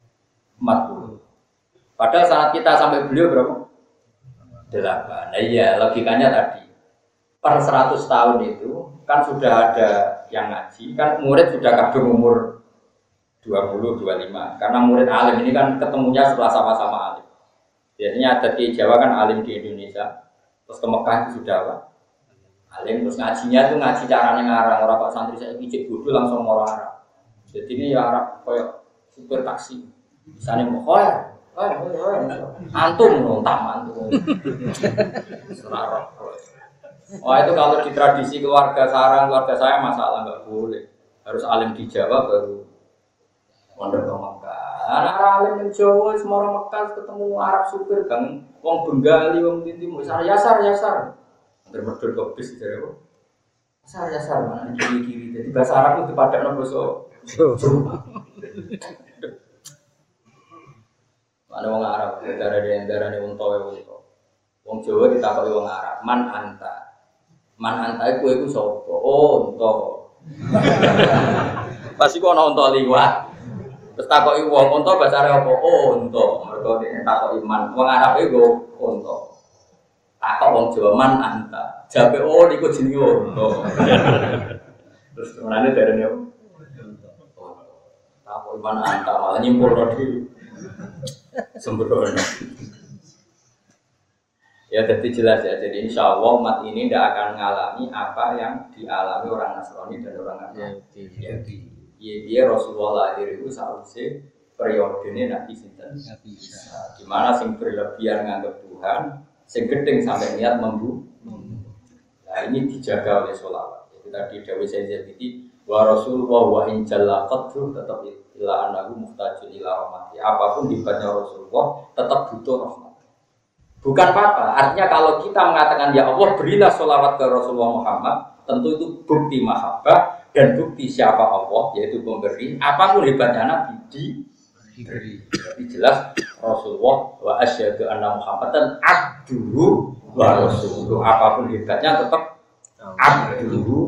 Padahal saat kita sampai beliau berapa? 8. Nah iya logikanya tadi per 100 tahun itu kan sudah ada yang ngaji kan murid sudah kadung umur 20-25 karena murid alim ini kan ketemunya setelah sama-sama alim. Biasanya adat di Jawa kan alim di Indonesia terus ke Mekah itu sudah apa? Alim terus ngajinya tuh ngaji caranya ngarang orang pak santri saya ijek bodoh langsung mau Arab. Jadi ini ya Arab kayak supir taksi misalnya mau antum nontak antum serarok. Wah itu kalau di tradisi keluarga saya masalah nggak boleh harus alim di Jawa baru mondok ke Mekah. Anak alim di Jawa semua orang Mekah ketemu Arab supir kan, wong Bengali, wong Tintim, yasar. Berdor ke bis dari apa? Yasar mana kiri. Jadi bahasa Arab itu pada nopo so. Ada wong Arab, darah nih wong Towe. Wong Jawa ditakoki wong Arab, man anta iku sapa? Oh, unta. Pasti kok ana unta liwat. Terus takoki wong unta bahasa Arab apa? Oh, unta. Mergo nek takoki man, wong Arab iku unta. Takok wong Jawa man anta. Jabe oh niku jenenge unta. Terus menane darane apa? Takoki man anta malah nyimpulno dhewe. Sembrono. Ya jadi jelas ya. Jadi insya Allah umat ini tidak akan mengalami apa yang dialami orang Nasrani dan orang Yahudi. Iya Rasulullah lahir itu seharusnya periode ini Nabi Sinten. Di mana sing berlebihan menganggap Tuhan, sing gedeng sampai niat membunuh. Nah ini dijaga oleh sholawat. Jadi tadi Dawi Sayyid Zabidi wa Rasulullah wa injalla qadru tetap ila anahu muhtajun ila rahmati. Apapun hebatnya Rasulullah tetap butuh rahmat. Bukan apa-apa. Artinya kalau kita mengatakan ya Allah berilah sholawat ke Rasulullah Muhammad, tentu itu bukti mahabbah dan bukti siapa Allah yaitu pemberi. Apapun hebatnya Nabi diberi. Jadi jelas Rasulullah wa asyhadu anna Muhammadan abduhu wa rasuluhu. Apapun hebatnya tetap abduhu